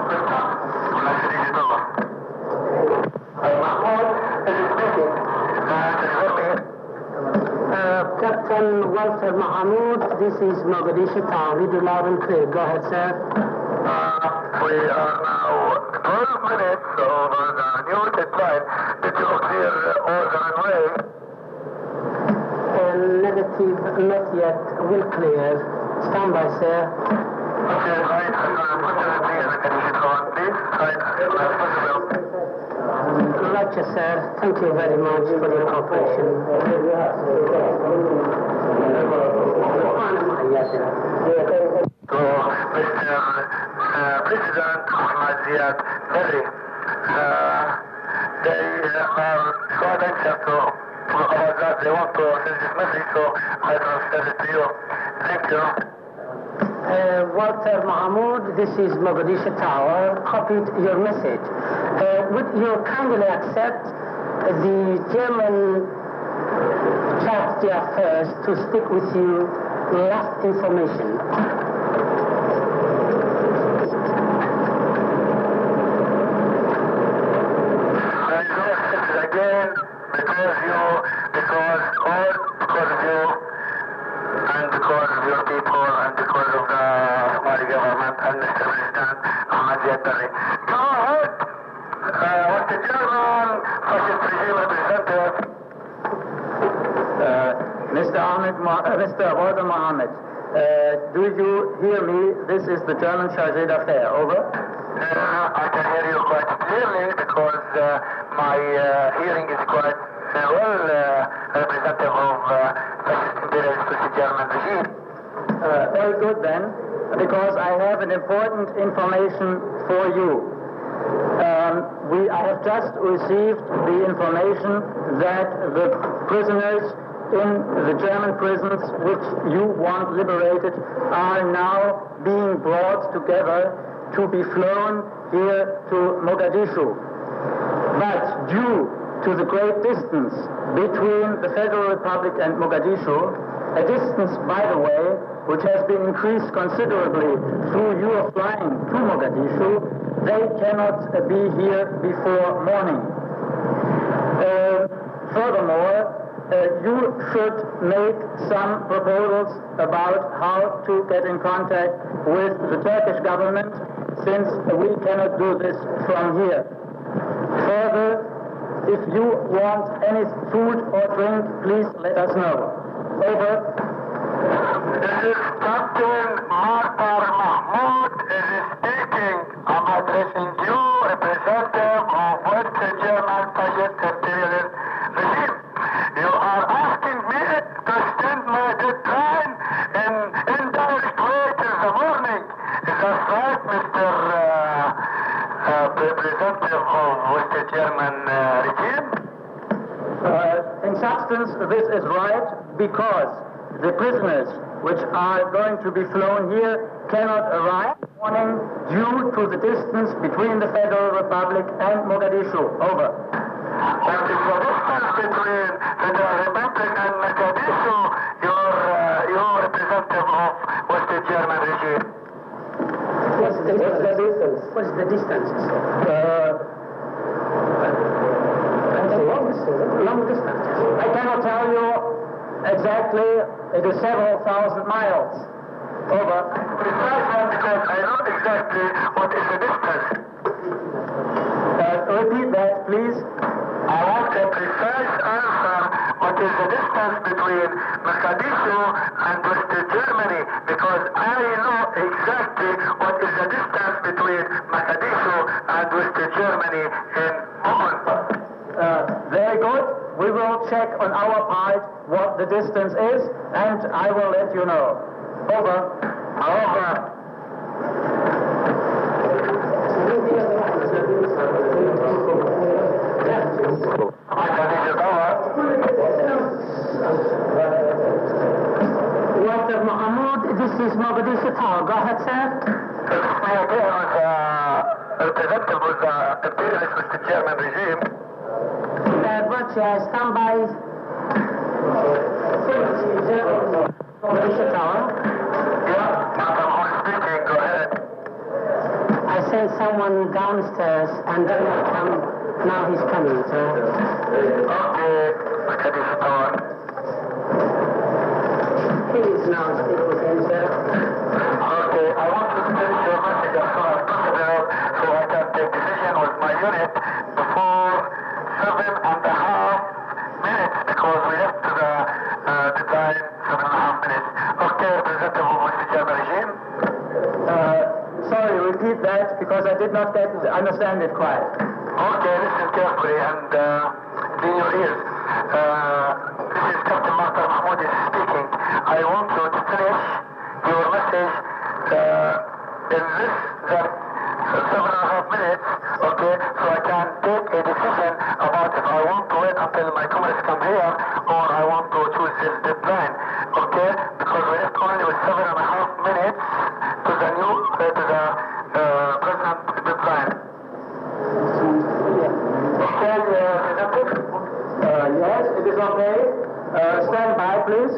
Captain Walter Mahmoud, this is Mogadishu Town. Read it loud and clear. Go ahead, sir. We are now 12 minutes over the new deadline. Did you clear all the runway? Negative, not yet. Will clear. Stand by, sir. Okay, right. Roger, sir. Thank you very much for your cooperation. To Mr. President Ahmad Ziad Barre, they are so anxious about that. They want to send this message, so I transfer it to you. Thank you. Walter Mahmoud, this is Mogadishu Tower, copied your message. Would you kindly accept the German Charge Affairs to stick with you last information? I know this again because of you, and because of your people, and because of the Somali government and Mr. President Ahmad Ziad Barre. Go ahead. What the German fascist regime represented. Mr. Walter Mohammed, do you hear me? This is the German Chargé d'Affaires. Over. I can hear you quite clearly because my hearing is quite well representative of fascist imperialist German regime. Very good then, because I have an important information for you. I have just received the information that the prisoners in the German prisons which you want liberated are now being brought together to be flown here to Mogadishu. But due to the great distance between the Federal Republic and Mogadishu, a distance, by the way, which has been increased considerably through your flying to Mogadishu, they cannot be here before morning. Furthermore, you should make some proposals about how to get in contact with the Turkish government, since we cannot do this from here. Further, if you want any food or drink, please let us know. Over. This is Captain Walter Mahmoud speaking. I'm addressing you, representative of West German fascist imperialist regime. You are asking me to extend my deadline in indirect way till the morning. Is that right, Mr. Representative of West German regime? In substance, this is right, because the prisoners which are going to be flown here cannot arrive this morning due to the distance between the Federal Republic and Mogadishu. Over. What is the distance between Federal Republic and Mogadishu, your representative of West German regime? What's the distance? What's the distance? Long distance. I cannot tell you exactly. It is several thousand miles. Over. Because I know exactly what is the Mogadishu and West Germany, because I know exactly what is the distance between Mogadishu and West Germany in Bonn. Very good. We will check on our part what the distance is, and I will let you know. Over. Over. Walter Mahmoud, this is Mogadishu Tower. Go ahead, sir. Representative of the imperialist West German regime. Stand by. Mogadishu Tower. Yeah, I'm speaking. Go ahead. I sent someone downstairs and then come. Now he's coming, sir. Okay, Mogadishu Tower. Please now speak with him, sir. Okay, I want to finish your message as soon as possible so I can take decision with my unit before 7.5 minutes because we left to the deadline 7.5 minutes. Okay, representative of West German regime. Sorry, repeat that because I did not understand it quite. Okay, listen carefully and in your ears. This is Captain Martar Mahmoud is speaking. I want you to finish your message in less than 7.5 minutes, okay, so I can take a decision about if I want to wait until my comrades come here or I want to choose this deadline, okay, because we left only with 7.5 minutes to the new, to the present deadline. Okay, Yes, it is okay. Stand by, please.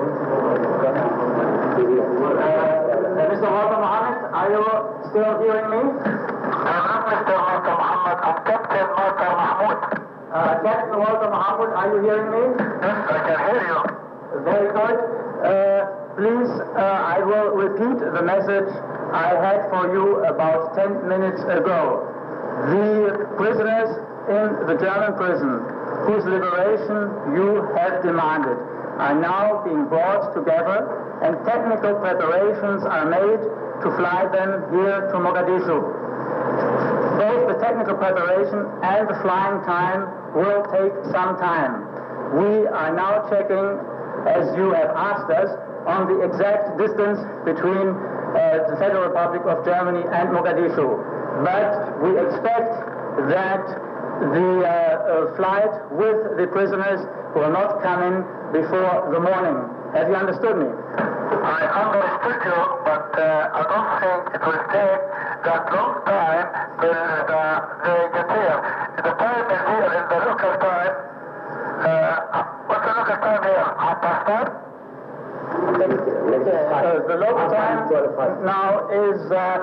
Mr. Walter Mohammed, are you still hearing me? I'm not Mr. Walter Mohammed, I'm Captain Walter Mahmoud. Captain Walter Mohammed, are you hearing me? Yes, I can hear you. Very good. Please, I will repeat the message I had for you about 10 minutes ago. The prisoners in the German prison, whose liberation you have demanded, are now being brought together and technical preparations are made to fly them here to Mogadishu. Both the technical preparation and the flying time will take some time. We are now checking, as you have asked us, on the exact distance between the Federal Republic of Germany and Mogadishu. But we expect that the flight with the prisoners will not come in before the morning. Have you understood me? I understood you, but I don't think it will take that long time till they get here. The time is here in the local time. What's the local time here? 5:30? The local time now is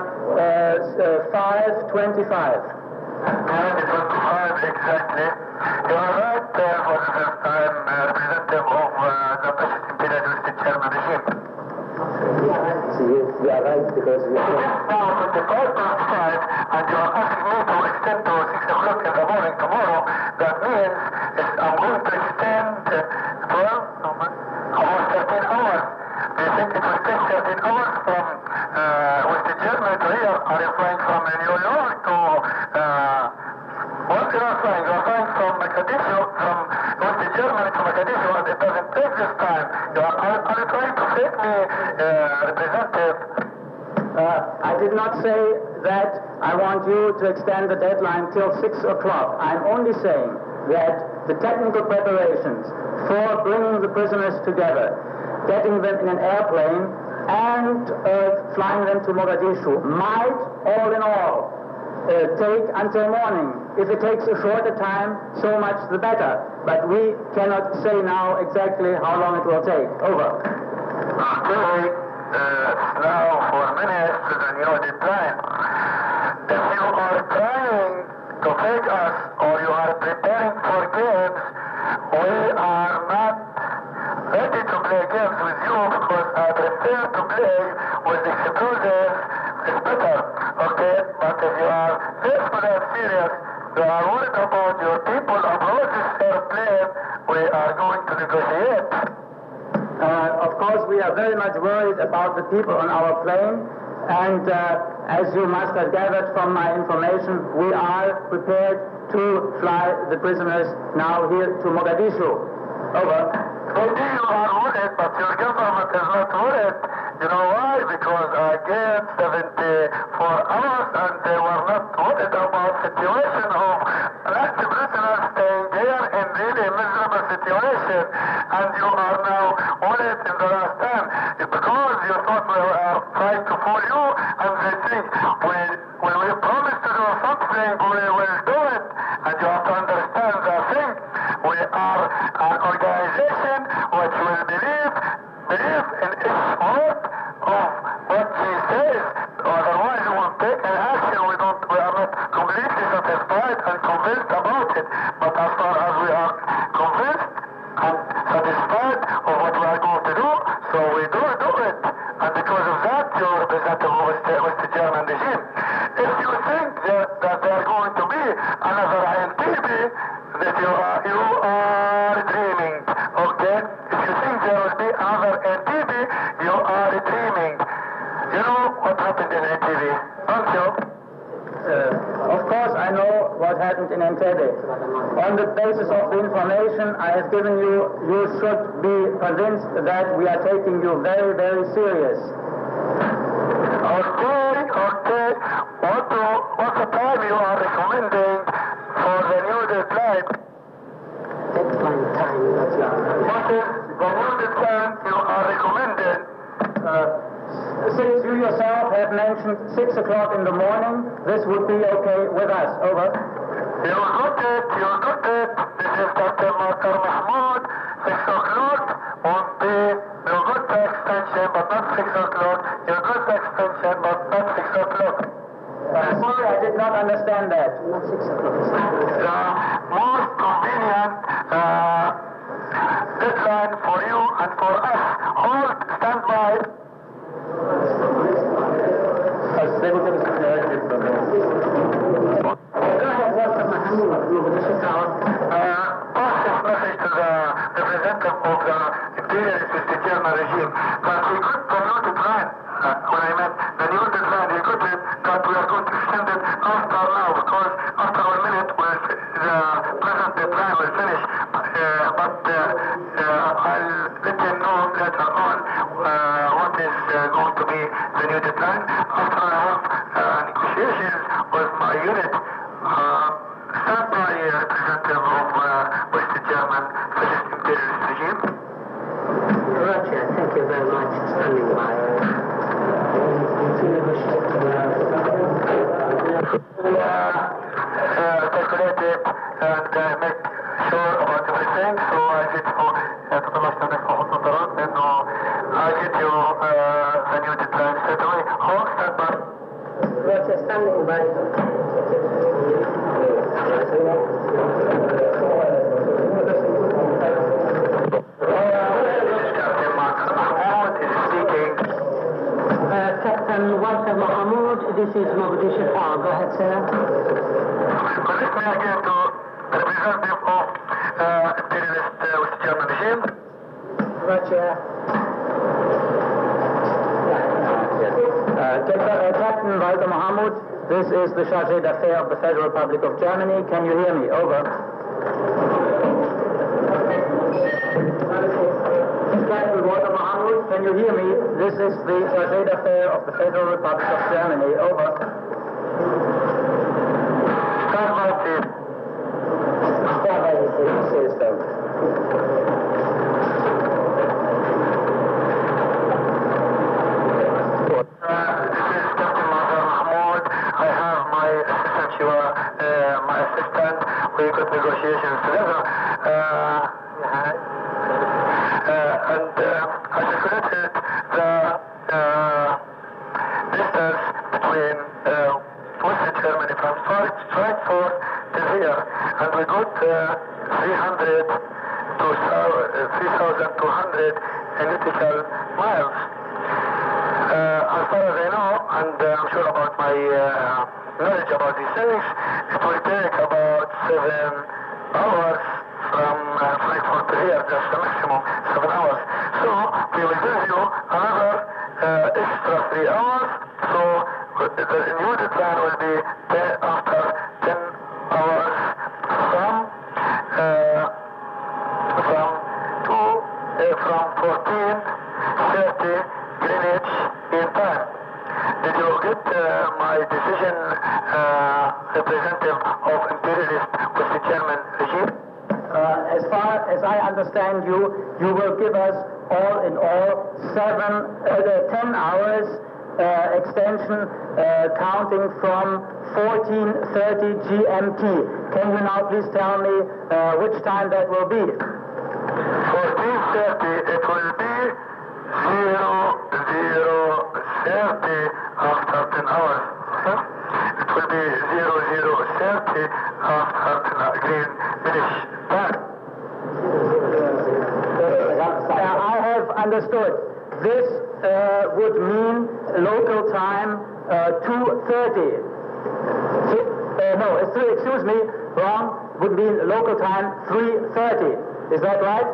5:25. 5:25 exactly. You are right for the first time, representative of the British imperialist German regime. Yes, you are right because we are... Now, 25:5, and you are asking me to extend to 6 o'clock in the morning tomorrow. That means I'm going to extend almost 13 hours. Do you think it will take 13 hours from West Germany to here? Are you flying from New York to... what you are flying? You are flying from Mogadishu, from West Germany to Mogadishu, and it doesn't take this time. Are you trying to fake me, representative? I did not say that I want you to extend the deadline till 6 o'clock. I'm only saying that the technical preparations for bringing the prisoners together, getting them in an airplane, and flying them to Mogadishu might, all in all, take until morning. If it takes a shorter time, so much the better. But we cannot say now exactly how long it will take. Over. Okay, now for minutes to the new deadline. If you are trying to fake us or you are preparing for games, we are not ready to play games with you because I prefer to play with explosives. It's better, okay? But if you are desperate and serious, you are worried about your people aboard this airplane, we are going to negotiate. Of course, we are very much worried about the people on our plane, and as you must have gathered from my information, we are prepared to fly the prisoners now here to Mogadishu. Over. Maybe you are worried, but your government is not worried. You know why? Because I gave 74 hours and they were not worried about the situation of elected prisoners staying here in really miserable situation. And you are now worried in the last time because you thought we were trying to fool you, and they think when we promise to do something, we will do it. And you have to understand the thing. We are an organization which will believe in its word of what she says. Otherwise, we won't take an action. We are not completely satisfied and convinced about it. But as far as we are convinced and satisfied of what we are going to do, so we do it. And because of that, you are representative of the German regime. If you think that there are going to be another INTB, that you are dreaming, okay? If you think there will be another NTB, you are dreaming. You know what happened in NTB, don't you? Of course, I know what happened in Entebbe. On the basis of the information I have given you, you should be convinced that we are taking you very, very serious. Okay. What's the time you are recommending for the new deadline? Deadline time, What is the new deadline you are recommending? Since you yourself have mentioned 6 o'clock in the morning, this would be okay with us. Over. You got it. This is Dr. Makar Mahmoud. 6 o'clock won't be. You got the extension, but not 6 o'clock. You got the extension, but not 6 o'clock. Sorry, I did not understand that. not 6 o'clock. The most convenient deadline for you and for us. Hold, stand by. Pass this message to the representative of the imperialist with the German regime that we got the new deadline. When I meant the new deadline, we got it, that we are going to extend it after now, because after 1 minute the present deadline will finish. But I'll let you know later on what is going to be the new deadline. After I have negotiations with my unit, stand by representative of West German fascist imperialist regime. Roger, thank you very much for standing by. Calculate it and make sure about everything. So I get you I get you the new deadline straight away. Hold, stand by. Roger, standing by. Captain Walter Mahmoud, this is Mogadishu Tower. Go ahead, sir. Connect me again to the representative of imperialist West German regime. Roger. Captain Walter Mahmoud, this is the Chargé d'Affaires of the Federal Republic of Germany. Can you hear me? Over. Captain Walter Mahmoud, can you hear me? This is the Chargé d'Affaires of the Federal Republic of Germany. Over. Stand by, chief. Stand by, he says so. This is Captain Mahmoud. I have my assistant, my assistant. We got negotiations together. And I calculated the distance between West Germany from Frankfurt to here, and we got 300 to 3,200 nautical miles. As far as I know, and I'm sure about my knowledge about these things, it will take about 7 hours from Frankfurt to here, just the maximum 7 hours. So we will give you another extra 3 hours. So the new deadline will be after 10 hours from 14:30 Greenwich Mean Time. Did you get my decision, representative of imperialist West German regime? As far as I understand you, you will give us all in all 10 hours extension counting from 14:30 GMT. Can you now please tell me which time that will be? 14:30, it will be 00:30 after 10 hours. It will be 00:30 after 10 Greenwich time. I have understood. This would mean local time 2:30. No, excuse me, wrong. Would mean local time 3:30. Is that right?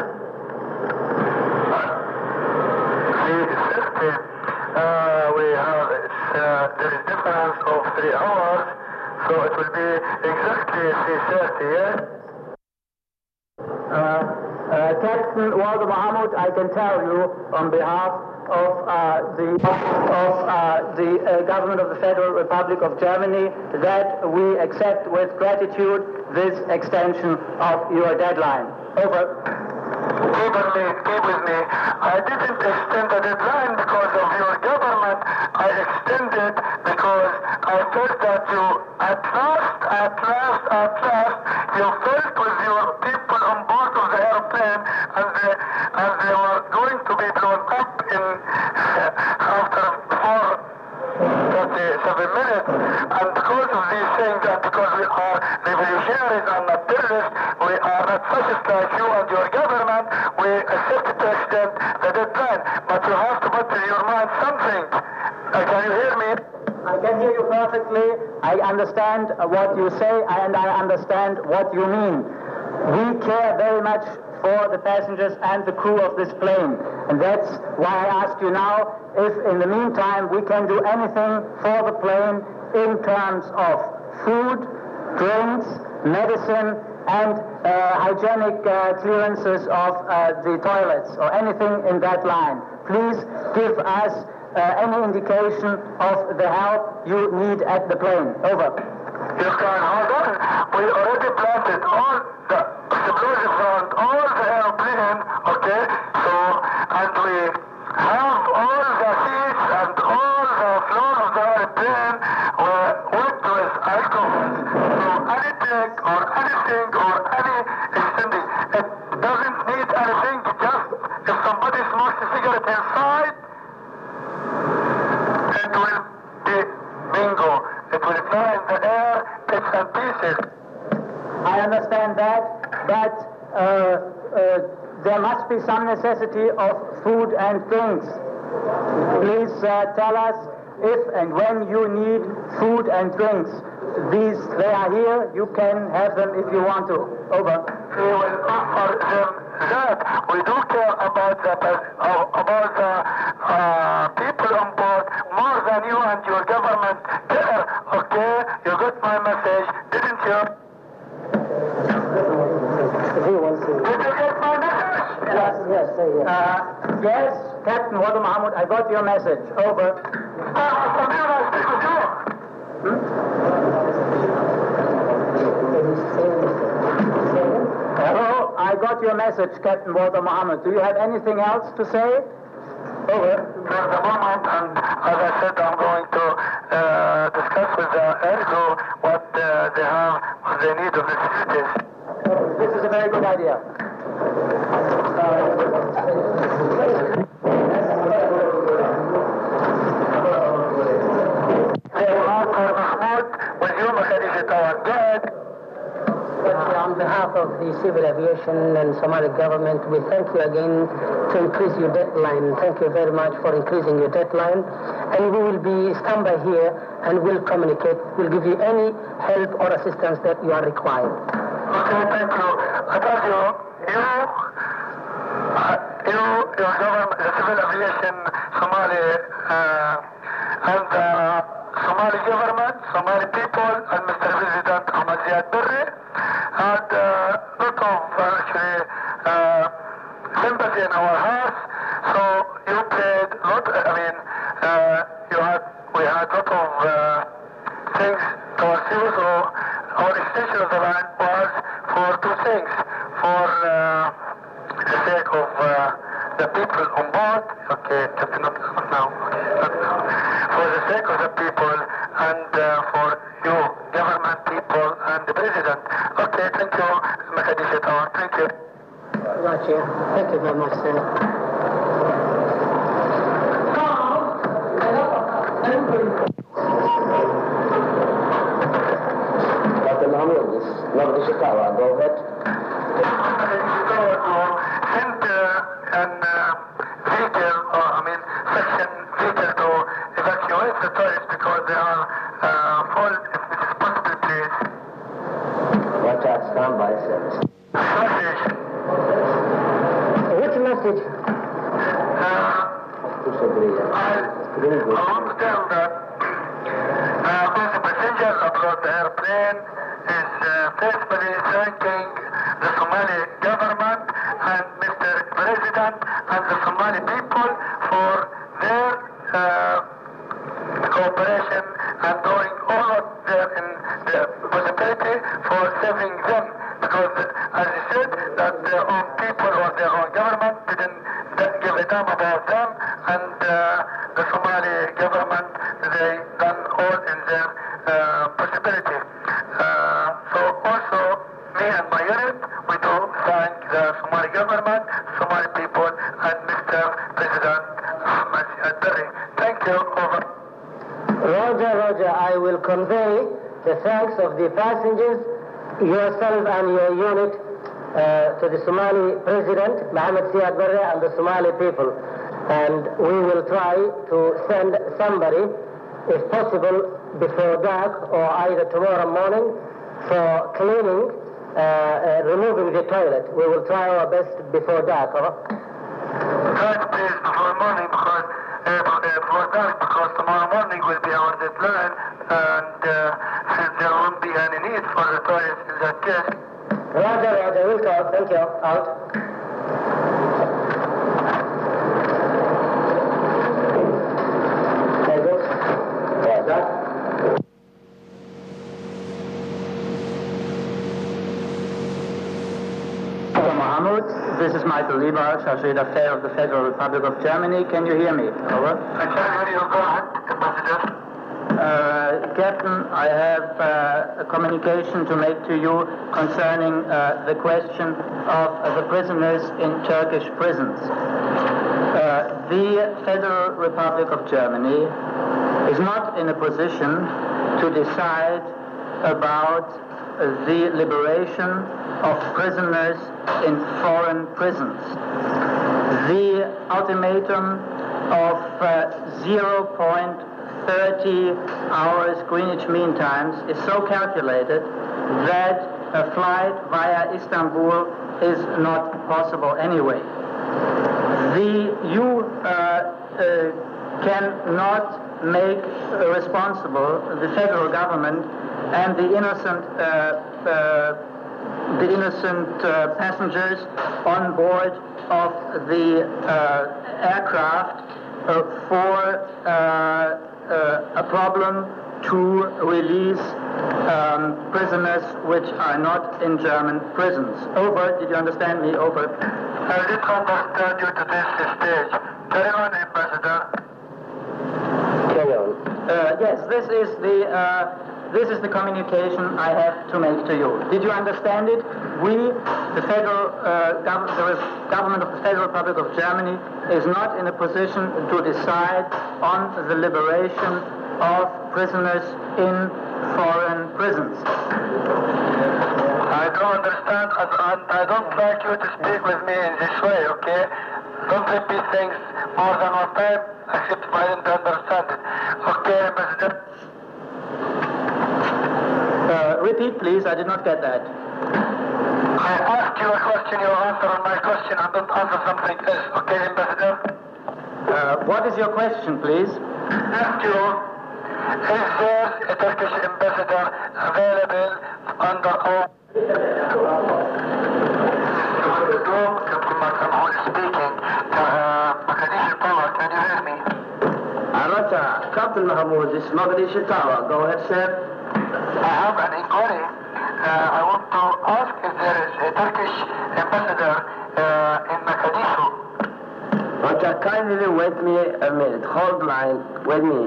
3:30. We have there is difference of 3 hours, so it will be exactly 3:30. Yes. Captain Walter Mahmoud, I can tell you on behalf of the government of the Federal Republic of Germany that we accept with gratitude this extension of your deadline. Over. Keep with me. I didn't extend the deadline because of your government. I extended because I felt that you, at last, you felt with your people on board of the airplane, and they were going to be blown up in after 37 minutes. And because of these things, and because we are revolutionaries and not terrorists, we are not fascists like you and your government, we accepted to extend the deadline. But you have to put in your mind something. Can you hear me? I can hear you perfectly. I understand what you say, and I understand what you mean. We care very much for the passengers and the crew of this plane. And that's why I ask you now if in the meantime we can do anything for the plane in terms of food, drinks, medicine, and hygienic clearances of the toilets or anything in that line. Please give us any indication of the help you need at the plane. Over. You can hold on. We already planted all the explosives around all the airplane, okay? So, and we have all the seats and all the floor of the airplane wet with alcohol. So anything or any extending, it doesn't need anything, just if somebody smokes a cigarette inside, it will be bingo. It will fly in the air, bits and pieces. I understand that, but there must be some necessity of food and drinks. Please tell us if and when you need food and drinks. They are here. You can have them if you want to. Over. We will offer them that. We do care about the people on board more than you and your government care. Okay, you got my message, didn't you? Did you get my message? Yes, Captain Walter Mahmoud, I got your message. Over. Hello, I got your message, Captain Walter Mahmoud. Do you have anything else to say? Over. For the moment, and as I said, I'm going to discuss with the ERGO what they have, what they need of the facilities. This is a very good idea. On behalf of the civil aviation and Somali government, we thank you again to increase your deadline. Thank you very much for increasing your deadline. And we will be standby here and we'll communicate. We'll give you any help or assistance that you are required. Okay, thank you. I told you, your government, the civil aviation Somali, and the Somali government, Somali people, and Mr. President Ahmed Ziad Barre had a lot of actually sympathy in our hearts. So you played a lot. I mean, we had a lot of things towards you. So our extension of the line was for two things: for the sake of the people on board. Okay, just not now. For the sake of the people and for you, government, people, and the president. Okay, thank you, Makadisha Tower. Thank you. Roger. Thank you very much, sir. Dr. Mahmoud, this is Makadisha Tower. Go ahead. Send an vehicle, or section vehicle to evacuate the tourists because they are full, if it is possible, please. Watch out, standby service. Message. Which message? I want to tell that the passengers aboard the airplane is faithfully thanking the Somali government and Mr. President and the Somali people for their cooperation and doing all of their in the possibility for saving them. Because, as I said, that their own people or their own government didn't give a damn about them, and the Somali government, they done all in their possibility. So also, me and my unit, we do thank the Somali government, Somali people, and Mr. President Ahmed Ziad Barre. Thank you. Over. Roger, I will convey the thanks of the passengers, yourself and your unit, to the Somali President, Mohammed Ziad Barre, and the Somali people. And we will try to send somebody, if possible, before dark or either tomorrow morning for cleaning, removing the toilet. We will try our best before dark. Guys, please, before morning, before dark, because tomorrow morning will be our deadline, and since there won't be any need for the toilets in that case. Roger, we'll talk. Thank you. Out. This is Michael Lieber, Chargé d'Affaires of the Federal Republic of Germany. Can you hear me? Over. I can hear you. Go ahead, Ambassador. Captain, I have a communication to make to you concerning the question of the prisoners in Turkish prisons. The Federal Republic of Germany is not in a position to decide about the liberation of prisoners in foreign prisons. The ultimatum of 0.30 hours Greenwich Mean Times is so calculated that a flight via Istanbul is not possible anyway. You cannot make responsible the federal government and the innocent passengers on board of the aircraft for a problem to release prisoners which are not in German prisons. Over. Did you understand me? Over. I did understand you to this stage. Carry on, Ambassador. Carry on. Yes, this is the communication I have to make to you. Did you understand it? We, the federal government of the Federal Republic of Germany, is not in a position to decide on the liberation of prisoners in foreign prisons. I don't understand, and I don't like you to speak with me in this way, okay? Don't repeat things more than one time, except if I didn't understand it. Okay, Ambassador? Repeat, please. I did not get that. I ask you a question, you answer on my question and don't answer something else. Okay, Ambassador? What is your question, please? Ask you, is there a Turkish ambassador available under oath? Captain Mahmoud speaking. Mogadishu Tower, can you hear me? Captain Mahmoud, this is Mogadishu Tower. Go ahead, sir. I have an inquiry. I want to ask if there is a Turkish ambassador in Mogadishu. Okay, kindly wait me a minute. Hold line with me.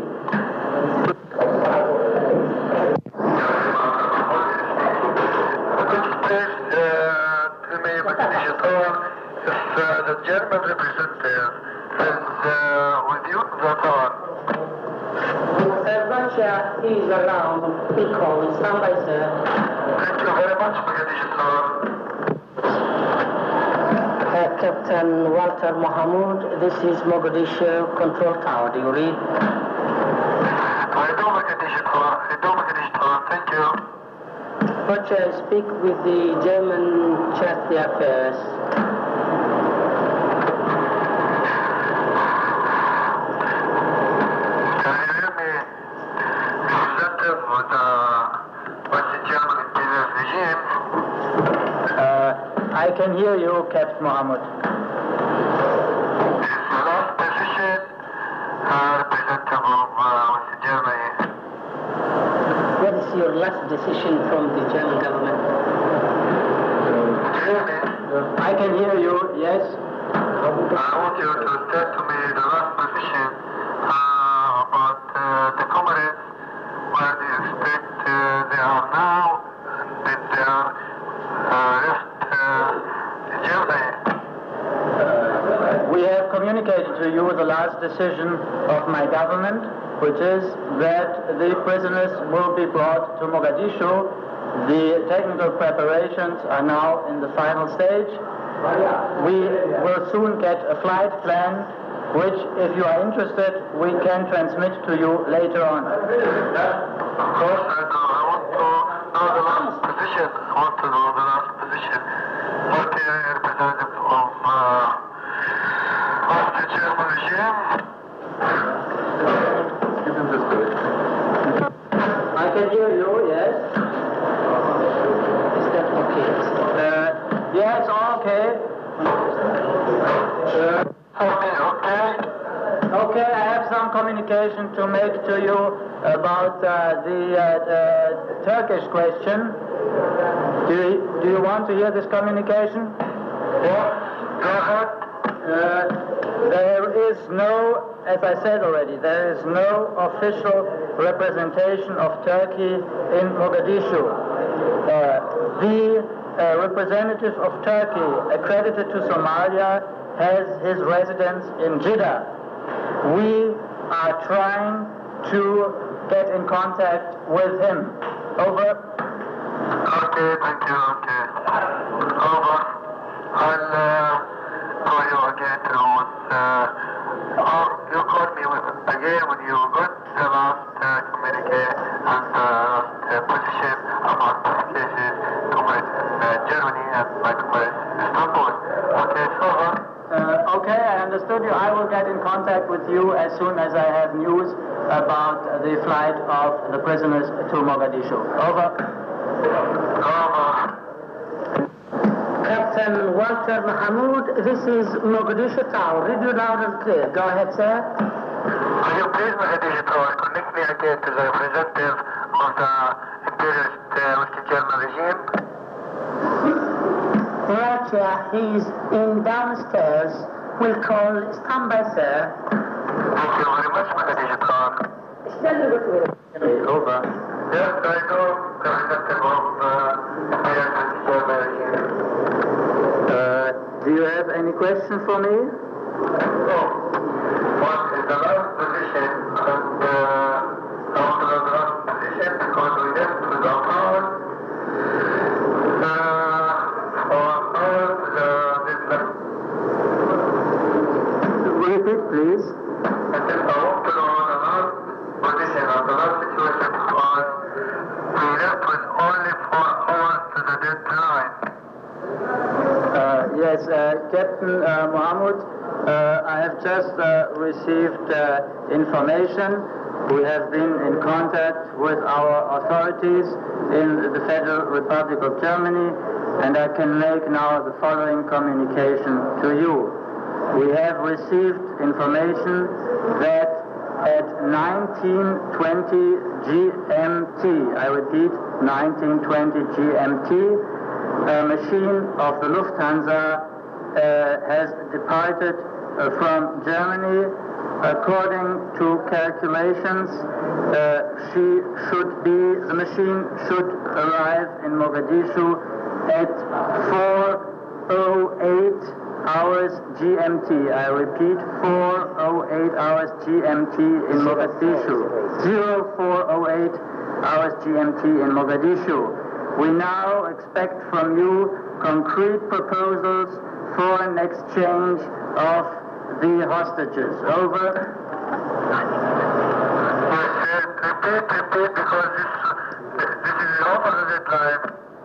Could you please tell me, Mogadishu Tower, if the German representative is with you, the tower? Russia is around. He calls. Stand by, sir. Thank you very much, Mogadishu Tower. Captain Walter Mahmoud, this is Mogadishu Control Tower. Do you read? I do, Mogadishu Tower. Thank you. Watch, I speak with the German Charity Affairs. Can you hear me? Representative of the German imperial regime. I can hear you, Captain Mohammed. Is the last position representative of West Germany? What is your last decision from the German government? Can you hear me? I can hear you, yes. I want you to tell to me the last position about the comrades, where do you expect they are now, and if they are left Germany. We have communicated to you the last decision of my government, which is that the prisoners will be brought to Mogadishu. The technical preparations are now in the final stage. We will soon get a flight plan, which, if you are interested, we can transmit to you later on. Of course, I want to know the last position. What the representative of the German regime? I can hear you, yes. Is that okay? Yes, okay. Okay, I have some communication to make to you about the Turkish question. Do you want to hear this communication? There is no, as I said already, there is no official representation of Turkey in Mogadishu. The representative of Turkey accredited to Somalia has his residence in Jeddah. We are trying to get in contact with him. Over. Okay, thank you, okay. Over. I'll call you again you called me again when you got the last communique and position about the cases in Germany and likewise Istanbul. Okay, so Okay, I understood you. I will get in contact with you as soon as I have news about the flight of the prisoners to Mogadishu. Over. Captain Walter Mahmoud, this is Mogadishu Tower. Read you loud and clear. Go ahead, sir. Could you please, Mogadishu Tower, connect me again to the representative of the imperialist West German regime? Roger, he's in downstairs. We'll call. Stand by, sir. Thank you very much, Mogadishu Tower. Over. Yes, I know the representative of imperialist West German regime. Do you have any question for me? Oh, what is the last position and after the last position, because we left with our powers, Repeat, please. I said, I want to know the last position and the last situation was we left with only 4 hours to the deadline. Captain Mohammed, I have just received information. We have been in contact with our authorities in the Federal Republic of Germany, and I can make now the following communication to you. We have received information that at 1920 GMT, I repeat, 1920 GMT, a machine of the Lufthansa has departed from Germany. According to calculations, the machine should arrive in Mogadishu at 4:08 hours GMT. I repeat, 4:08 hours GMT in Mogadishu. 04:08 hours GMT in Mogadishu. We now expect from you concrete proposals for an exchange of the hostages. Over. Repeat, because this is over the deadline.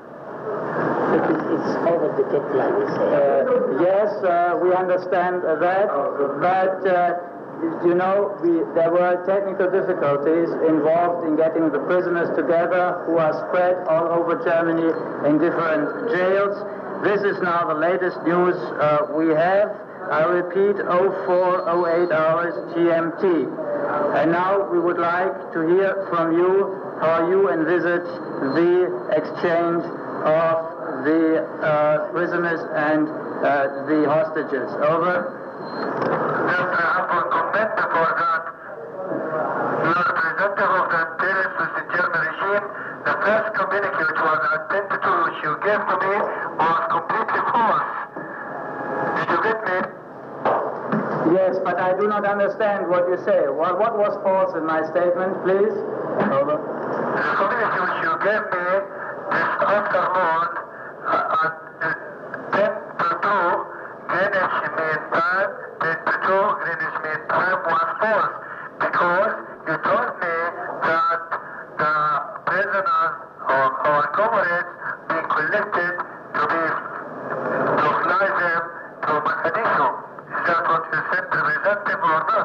It's over the deadline, you say. Yes, we understand that, but you know, there were technical difficulties involved in getting the prisoners together who are spread all over Germany in different jails. This is now the latest news we have. I repeat, 04:08 hours GMT. And now we would like to hear from you how you envisage the exchange of the prisoners and the hostages. Over. Yes, I have a comment before that. The representative of the terrorists with the German regime, the first communique which was attended to, which you gave to me, was completely false. Did you get me? Yes, but I do not understand what you say. What was false in my statement, please? Over. The communique which you gave me this afternoon at 10 to 2 Greenwich Mean Time, 10 to 2 Greenwich Mean Time was false, because you told me that the prisoners or our comrades being collected to fly them to Mogadishu. Is that what you said, representative, or not?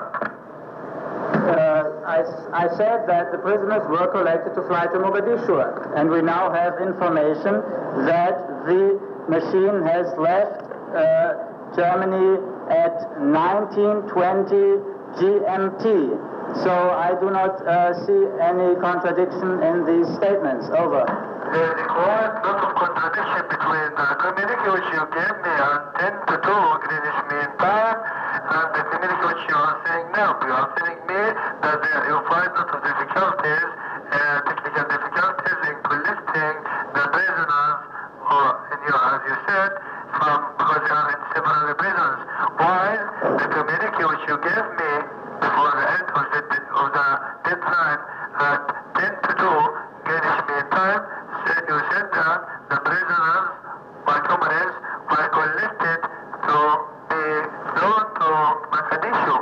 I said that the prisoners were collected to fly to Mogadishu, and we now have information that the machine has left Germany at 1920 GMT. So I do not see any contradiction in these statements. Over. There is quite a lot of contradiction between the communique which you gave me at 10 to 2 Greenwich Mean Time and the communique which you are saying now. You are telling me that you find a lot of difficulties, technical difficulties in collecting the prisoners, or as you said, because they are in several prisons. While the communique which you gave me before the end of the deadline at 10 to 2 Greenwich Mean Time, you said that the prisoners, my comrades, were collected to be flown to Mogadishu.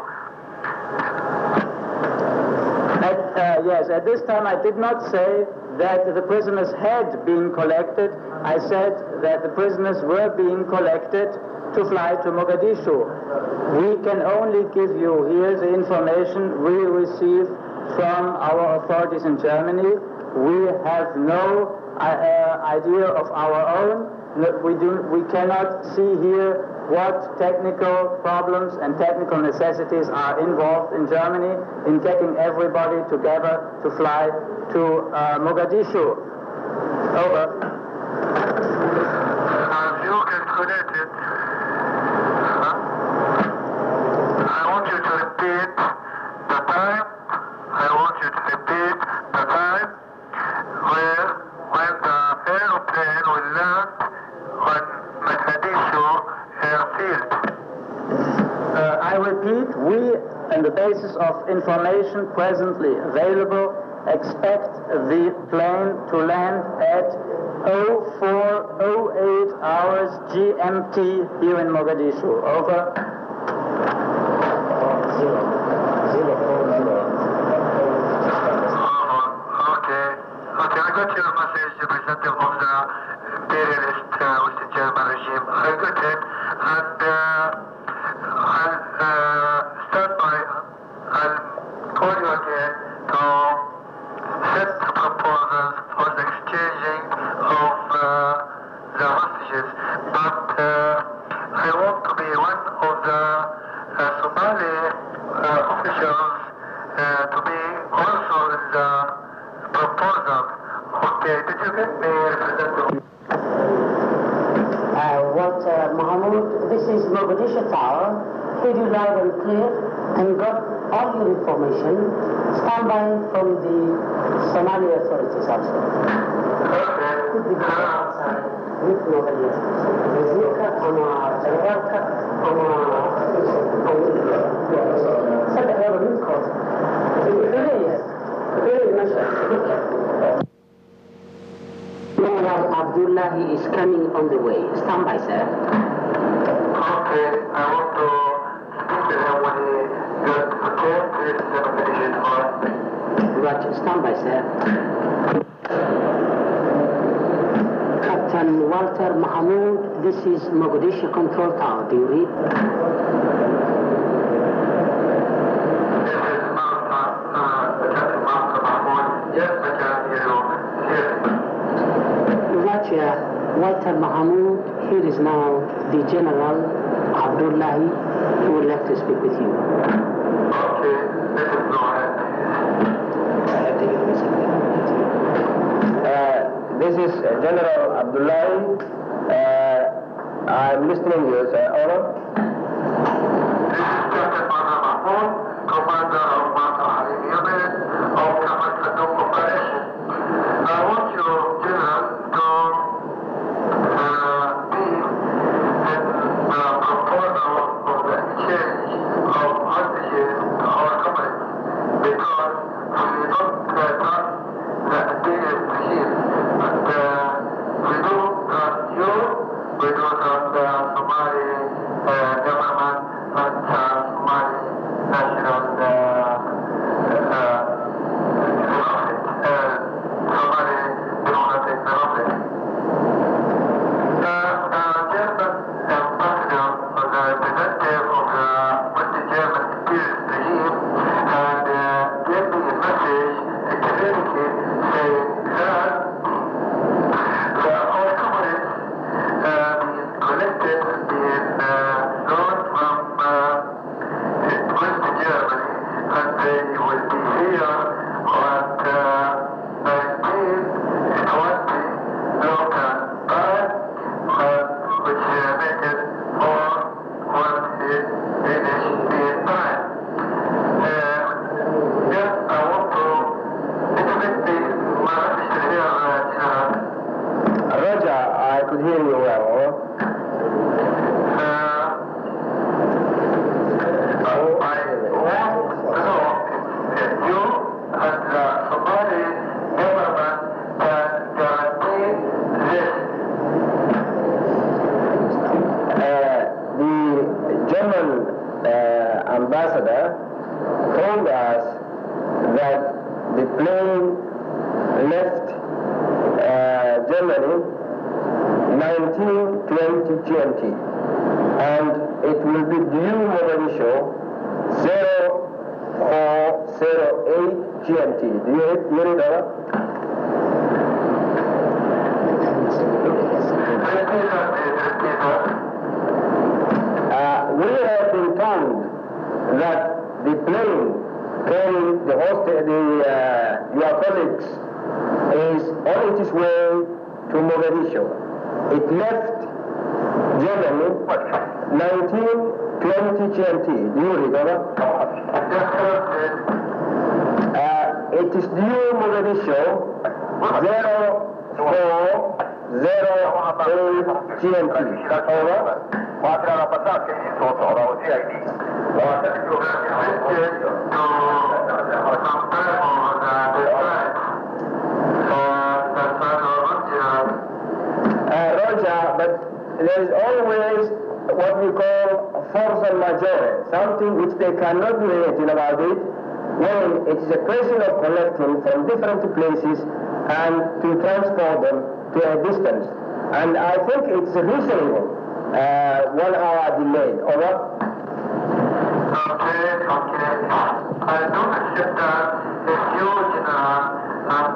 Yes, at this time I did not say that the prisoners had been collected. I said that the prisoners were being collected to fly to Mogadishu. We can only give you here the information we receive from our authorities in Germany. We have no idea of our own. We cannot see here what technical problems and technical necessities are involved in Germany in getting everybody together to fly to Mogadishu. Over. As you calculated, I want you to repeat the time. I want you to repeat the time when the airplane will land on Mogadishu airfield. I repeat, we, on the basis of information presently available, expect the plane to land at 04:08 hours GMT here in Mogadishu. Over. Okay, I got your message, representative of the imperialist with the German regime. I got it, and accept proposals for the exchanging of the hostages, but I want to be one of the Somali officials to be also in the proposal. Okay, did you get me, Representative? Walter Mahmoud, this is Mogadishu Tower. Heard you loud and clear and got all your information. Stand by from the Somali authorities also. Could be outside with nobody else. Wazirka ama generalka ama صدق هذا منكم. General Abdullahi is coming on the way. Stand by, sir. Okay, I want to speak to him when he gets prepared to his examination for Roger, stand by, sir. Captain Walter Mahmoud, this is Mogadishu Control Tower. Do you read? Walter Mahmoud, here is now the General Abdullahi who would like to speak with you. Okay, let us go ahead. This is General Abdullahi. I'm listening to you, sir. Over. This is Captain Mahmoud, Commander of Mata Harim Yemen of Command Sadok Operation. I want you, General, to proposal of the exchange of hostages to our company because we don't trust the Syrian regime, but we do trust you, we do trust the Somali government and Somali national Somali Democratic Republic. Representative of the West-German imperialist regime and gave me a message, a communique saying that our companies being collected, being known from West Germany, and they will be here on 1920 local time, which make it more Roger, I could hear you well. I want to know if you and the Somali government can guarantee this. The German ambassador told us that the plane left Germany 1920 and it will be due Mogadishu 0408 GMT. Do you hear it over? We have been told that the plane carrying the host, your colleagues, is on its way to Mogadishu. It left Germany 1920 GMT. Do you remember? It is due Mogadishu 0408 GMT. Over. Roger, but there is always what we call force majeure, something which they cannot do anything about it, when it is a question of collecting from different places and to transport them to a distance. And I think it's reasonable, 1 hour delay. Over? Okay. I don't accept that if you, and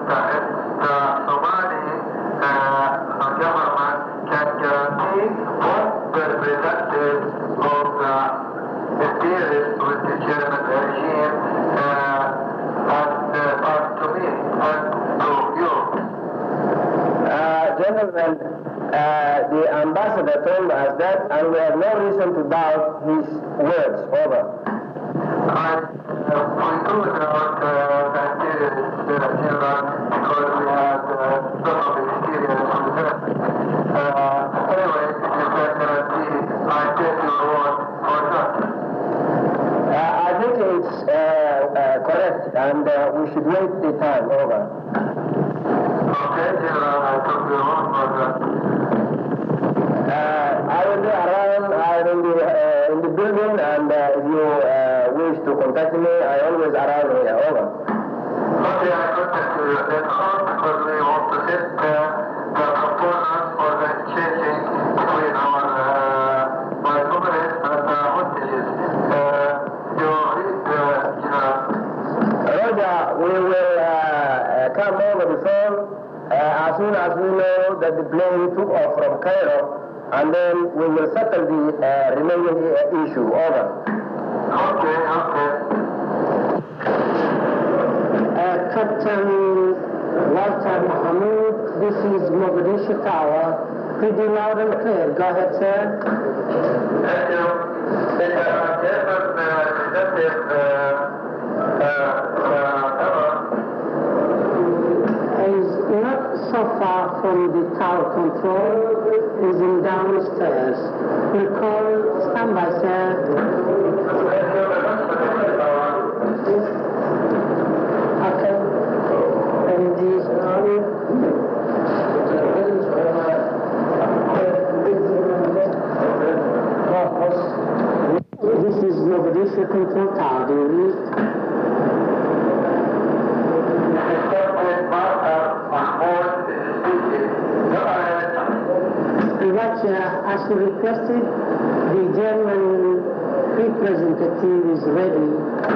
And the ambassador told us that, and we have no reason to doubt his words. Over. We told about that General because we had some of the experience on the anyway, it is definitely I take your word for that. I think it's correct, and we should wait the time. Over. Okay, General, I took your word for that. I will be around. I will be in the building, and if you wish to contact me, I always arrive here. Over. Okay, I contact you later on because we want to set the proposals for the changing between our my comrades and hostages. You read Roger, we will come over the phone as soon as we know that the plane took off from Cairo, and then we will settle the remaining issue. Over. Okay. Captain Walter Mahmoud, this is Mogadishu Tower. Pretty loud and clear. Go ahead, sir. Thank you. Is not so far from the tower control, is in downstairs. We'll call standby, sir. Okay. And this is Mogadishu Control Tower. Do you read? As you requested, the German representative is ready.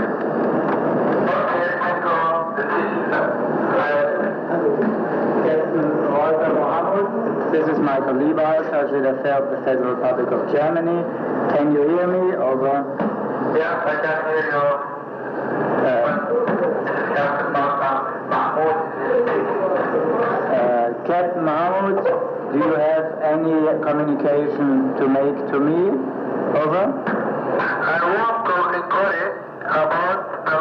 This is Michael Lieber, Chargé d'Affaires of the Federal Republic of Germany. Can you hear me? Over. Yeah, I can hear you. Captain Mahmoud, do you have any communication to make to me? Over. I want to inquire about the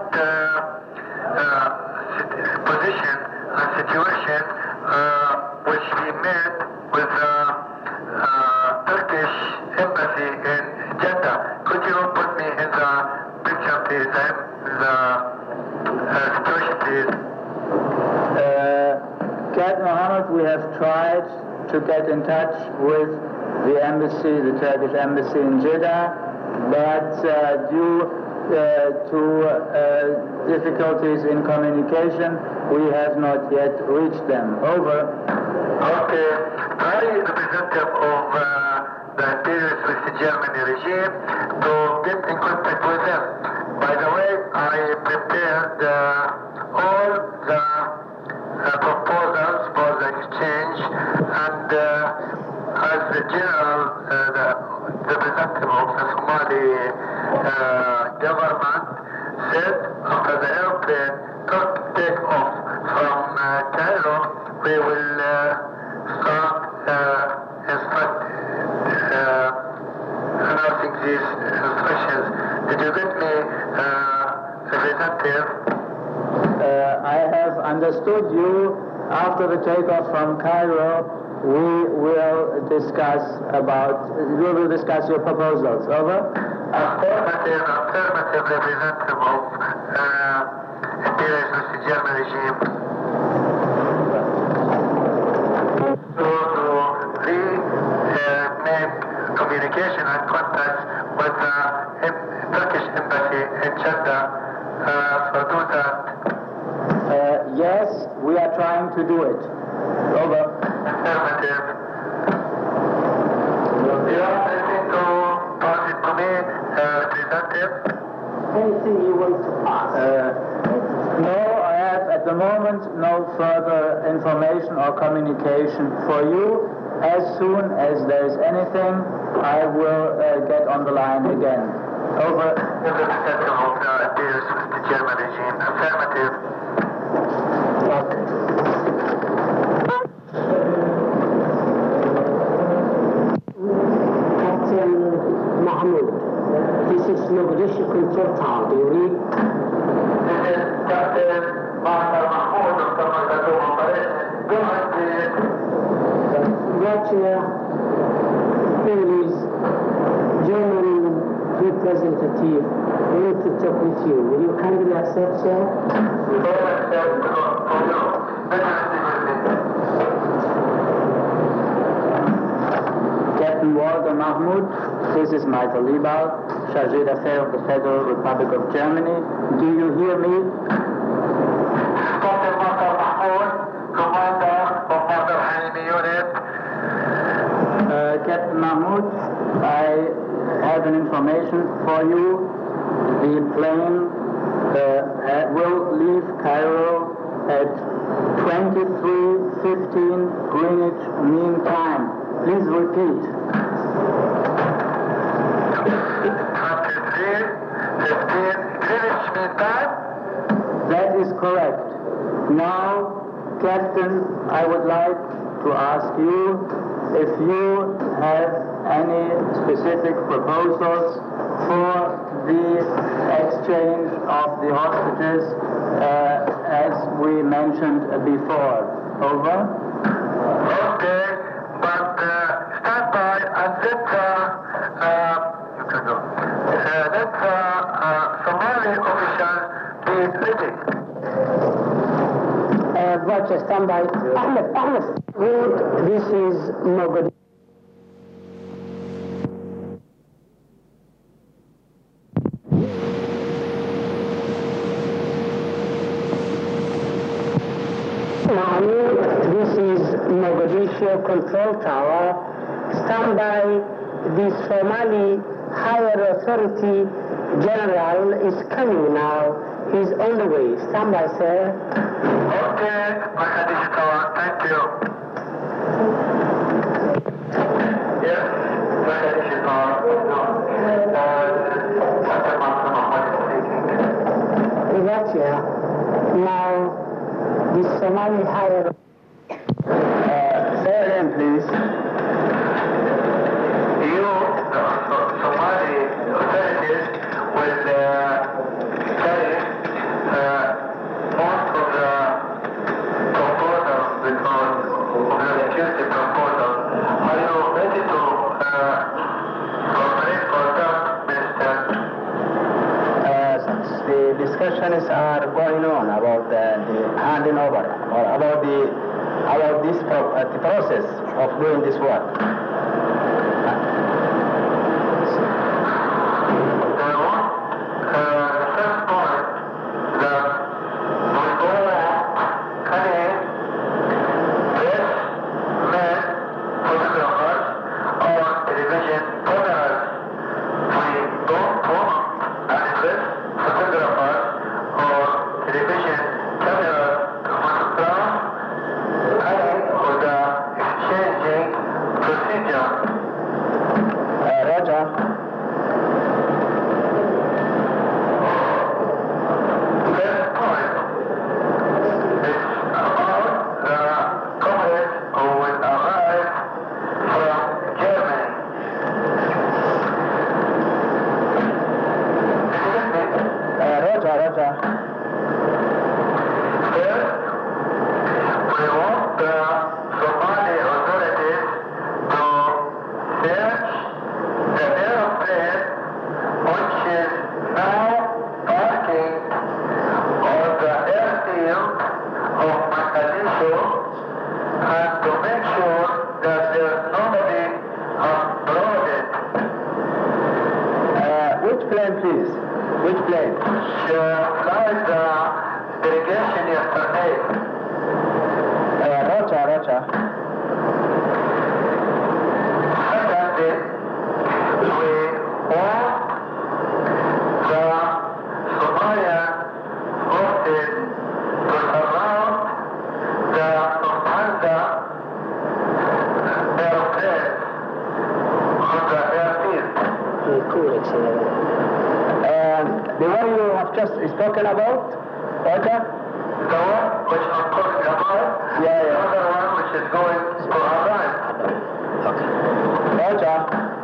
last position and situation which we met with the Turkish embassy in Jeddah. Could you put me in the picture, please? The situation, please. Captain Mohammed, we have tried to get in touch with the embassy, the Turkish embassy in Jeddah, but due to difficulties in communication, we have not yet reached them. Over. Okay. I, representative of the imperialist with the Germany regime, to get in contact with them. By the way, I prepared all the proposals for the exchange, and as the general, the representative of the Somali government said, after the airplane take off from Cairo, we will start announcing these instructions. Did you get me, representative? I have understood you. After the takeoff from Cairo, we will discuss your proposals. Over. Affirmative representative of imperialist with the German regime. To make communication and contact with the Turkish embassy in Jeddah for do that. Yes, we are trying to do it. Over. Affirmative. Do you have anything to pass it to me, representative? Anything you want to ask? No, I have at the moment no further information or communication for you. As soon as there is anything, I will get on the line again. Over. Representative of the German regime. Affirmative. Authority want to talk with you. Will you kindly accept, sir? Captain Walter Mahmoud, this is Michael Liebau, Chargé d'Affaires of the Federal Republic of Germany. Do you hear me? Captain Walter Mahmoud, Commander of Badr Halimi Unit. Captain Mahmoud, I have an information for you. The plane will leave Cairo at 23:15 Greenwich Mean Time. Please repeat. 23:15 Greenwich Mean Time? That is correct. Now, Captain, I would like to ask you if you have any specific proposals for the exchange of the hostages as we mentioned before. Over. Okay, but stand by and let you can go. Let Somali official be ready. Roger, stand by. Ahmed. Good, this is Mogadishu. This is Mogadishu Control Tower. Stand by. The Somali Higher Authority General is coming now. He's on the way. Stand by, sir. Okay, Mogadishu Tower, thank you. Yes, Mogadishu Tower. Captain Walter Mahmoud speaking. Gotcha. Now, the Somali Higher Say again, please. You, the Somali authorities, will carry most of the proposals because of the accused proposal. Are you ready to cooperate or not, Minister? The discussions are going on about the handing over or about the process of doing this work. Which plane? Flight delegation yesterday. Roger. Secondly, we want the Somalian forces to surround the Lufthansa airplane on the airfield. The one you have just spoken about, Roger? The one which I'm talking about, Yeah. the other one which is going to arrive. Okay. Roger.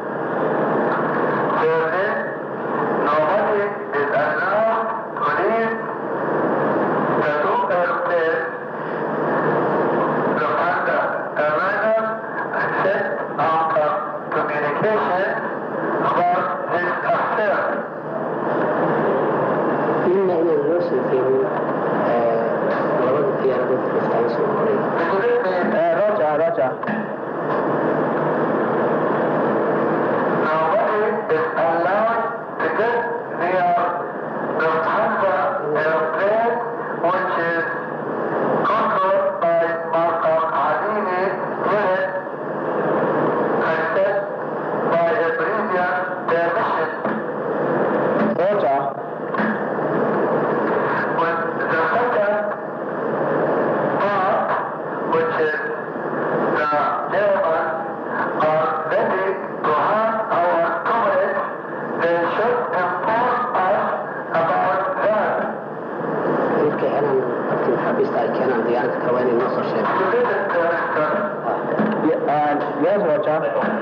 Thirdly, nobody is allowed to leave the two airplanes, Lufthansa airliners, except after communication about this affair. best I can and the answer when not so sure. Yes, Roger.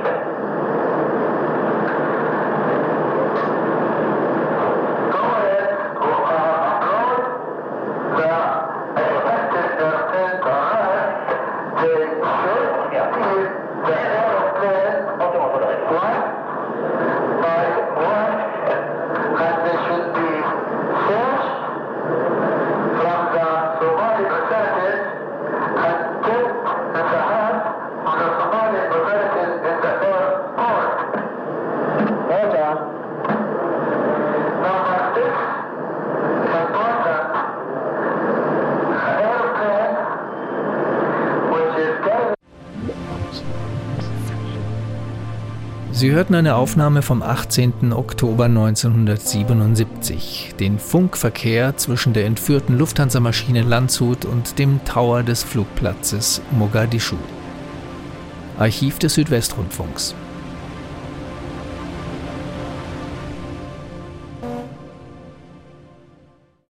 Sie hörten eine Aufnahme vom 18. Oktober 1977, den Funkverkehr zwischen der entführten Lufthansa-Maschine Landshut und dem Tower des Flugplatzes Mogadischu. Archiv des Südwestrundfunks.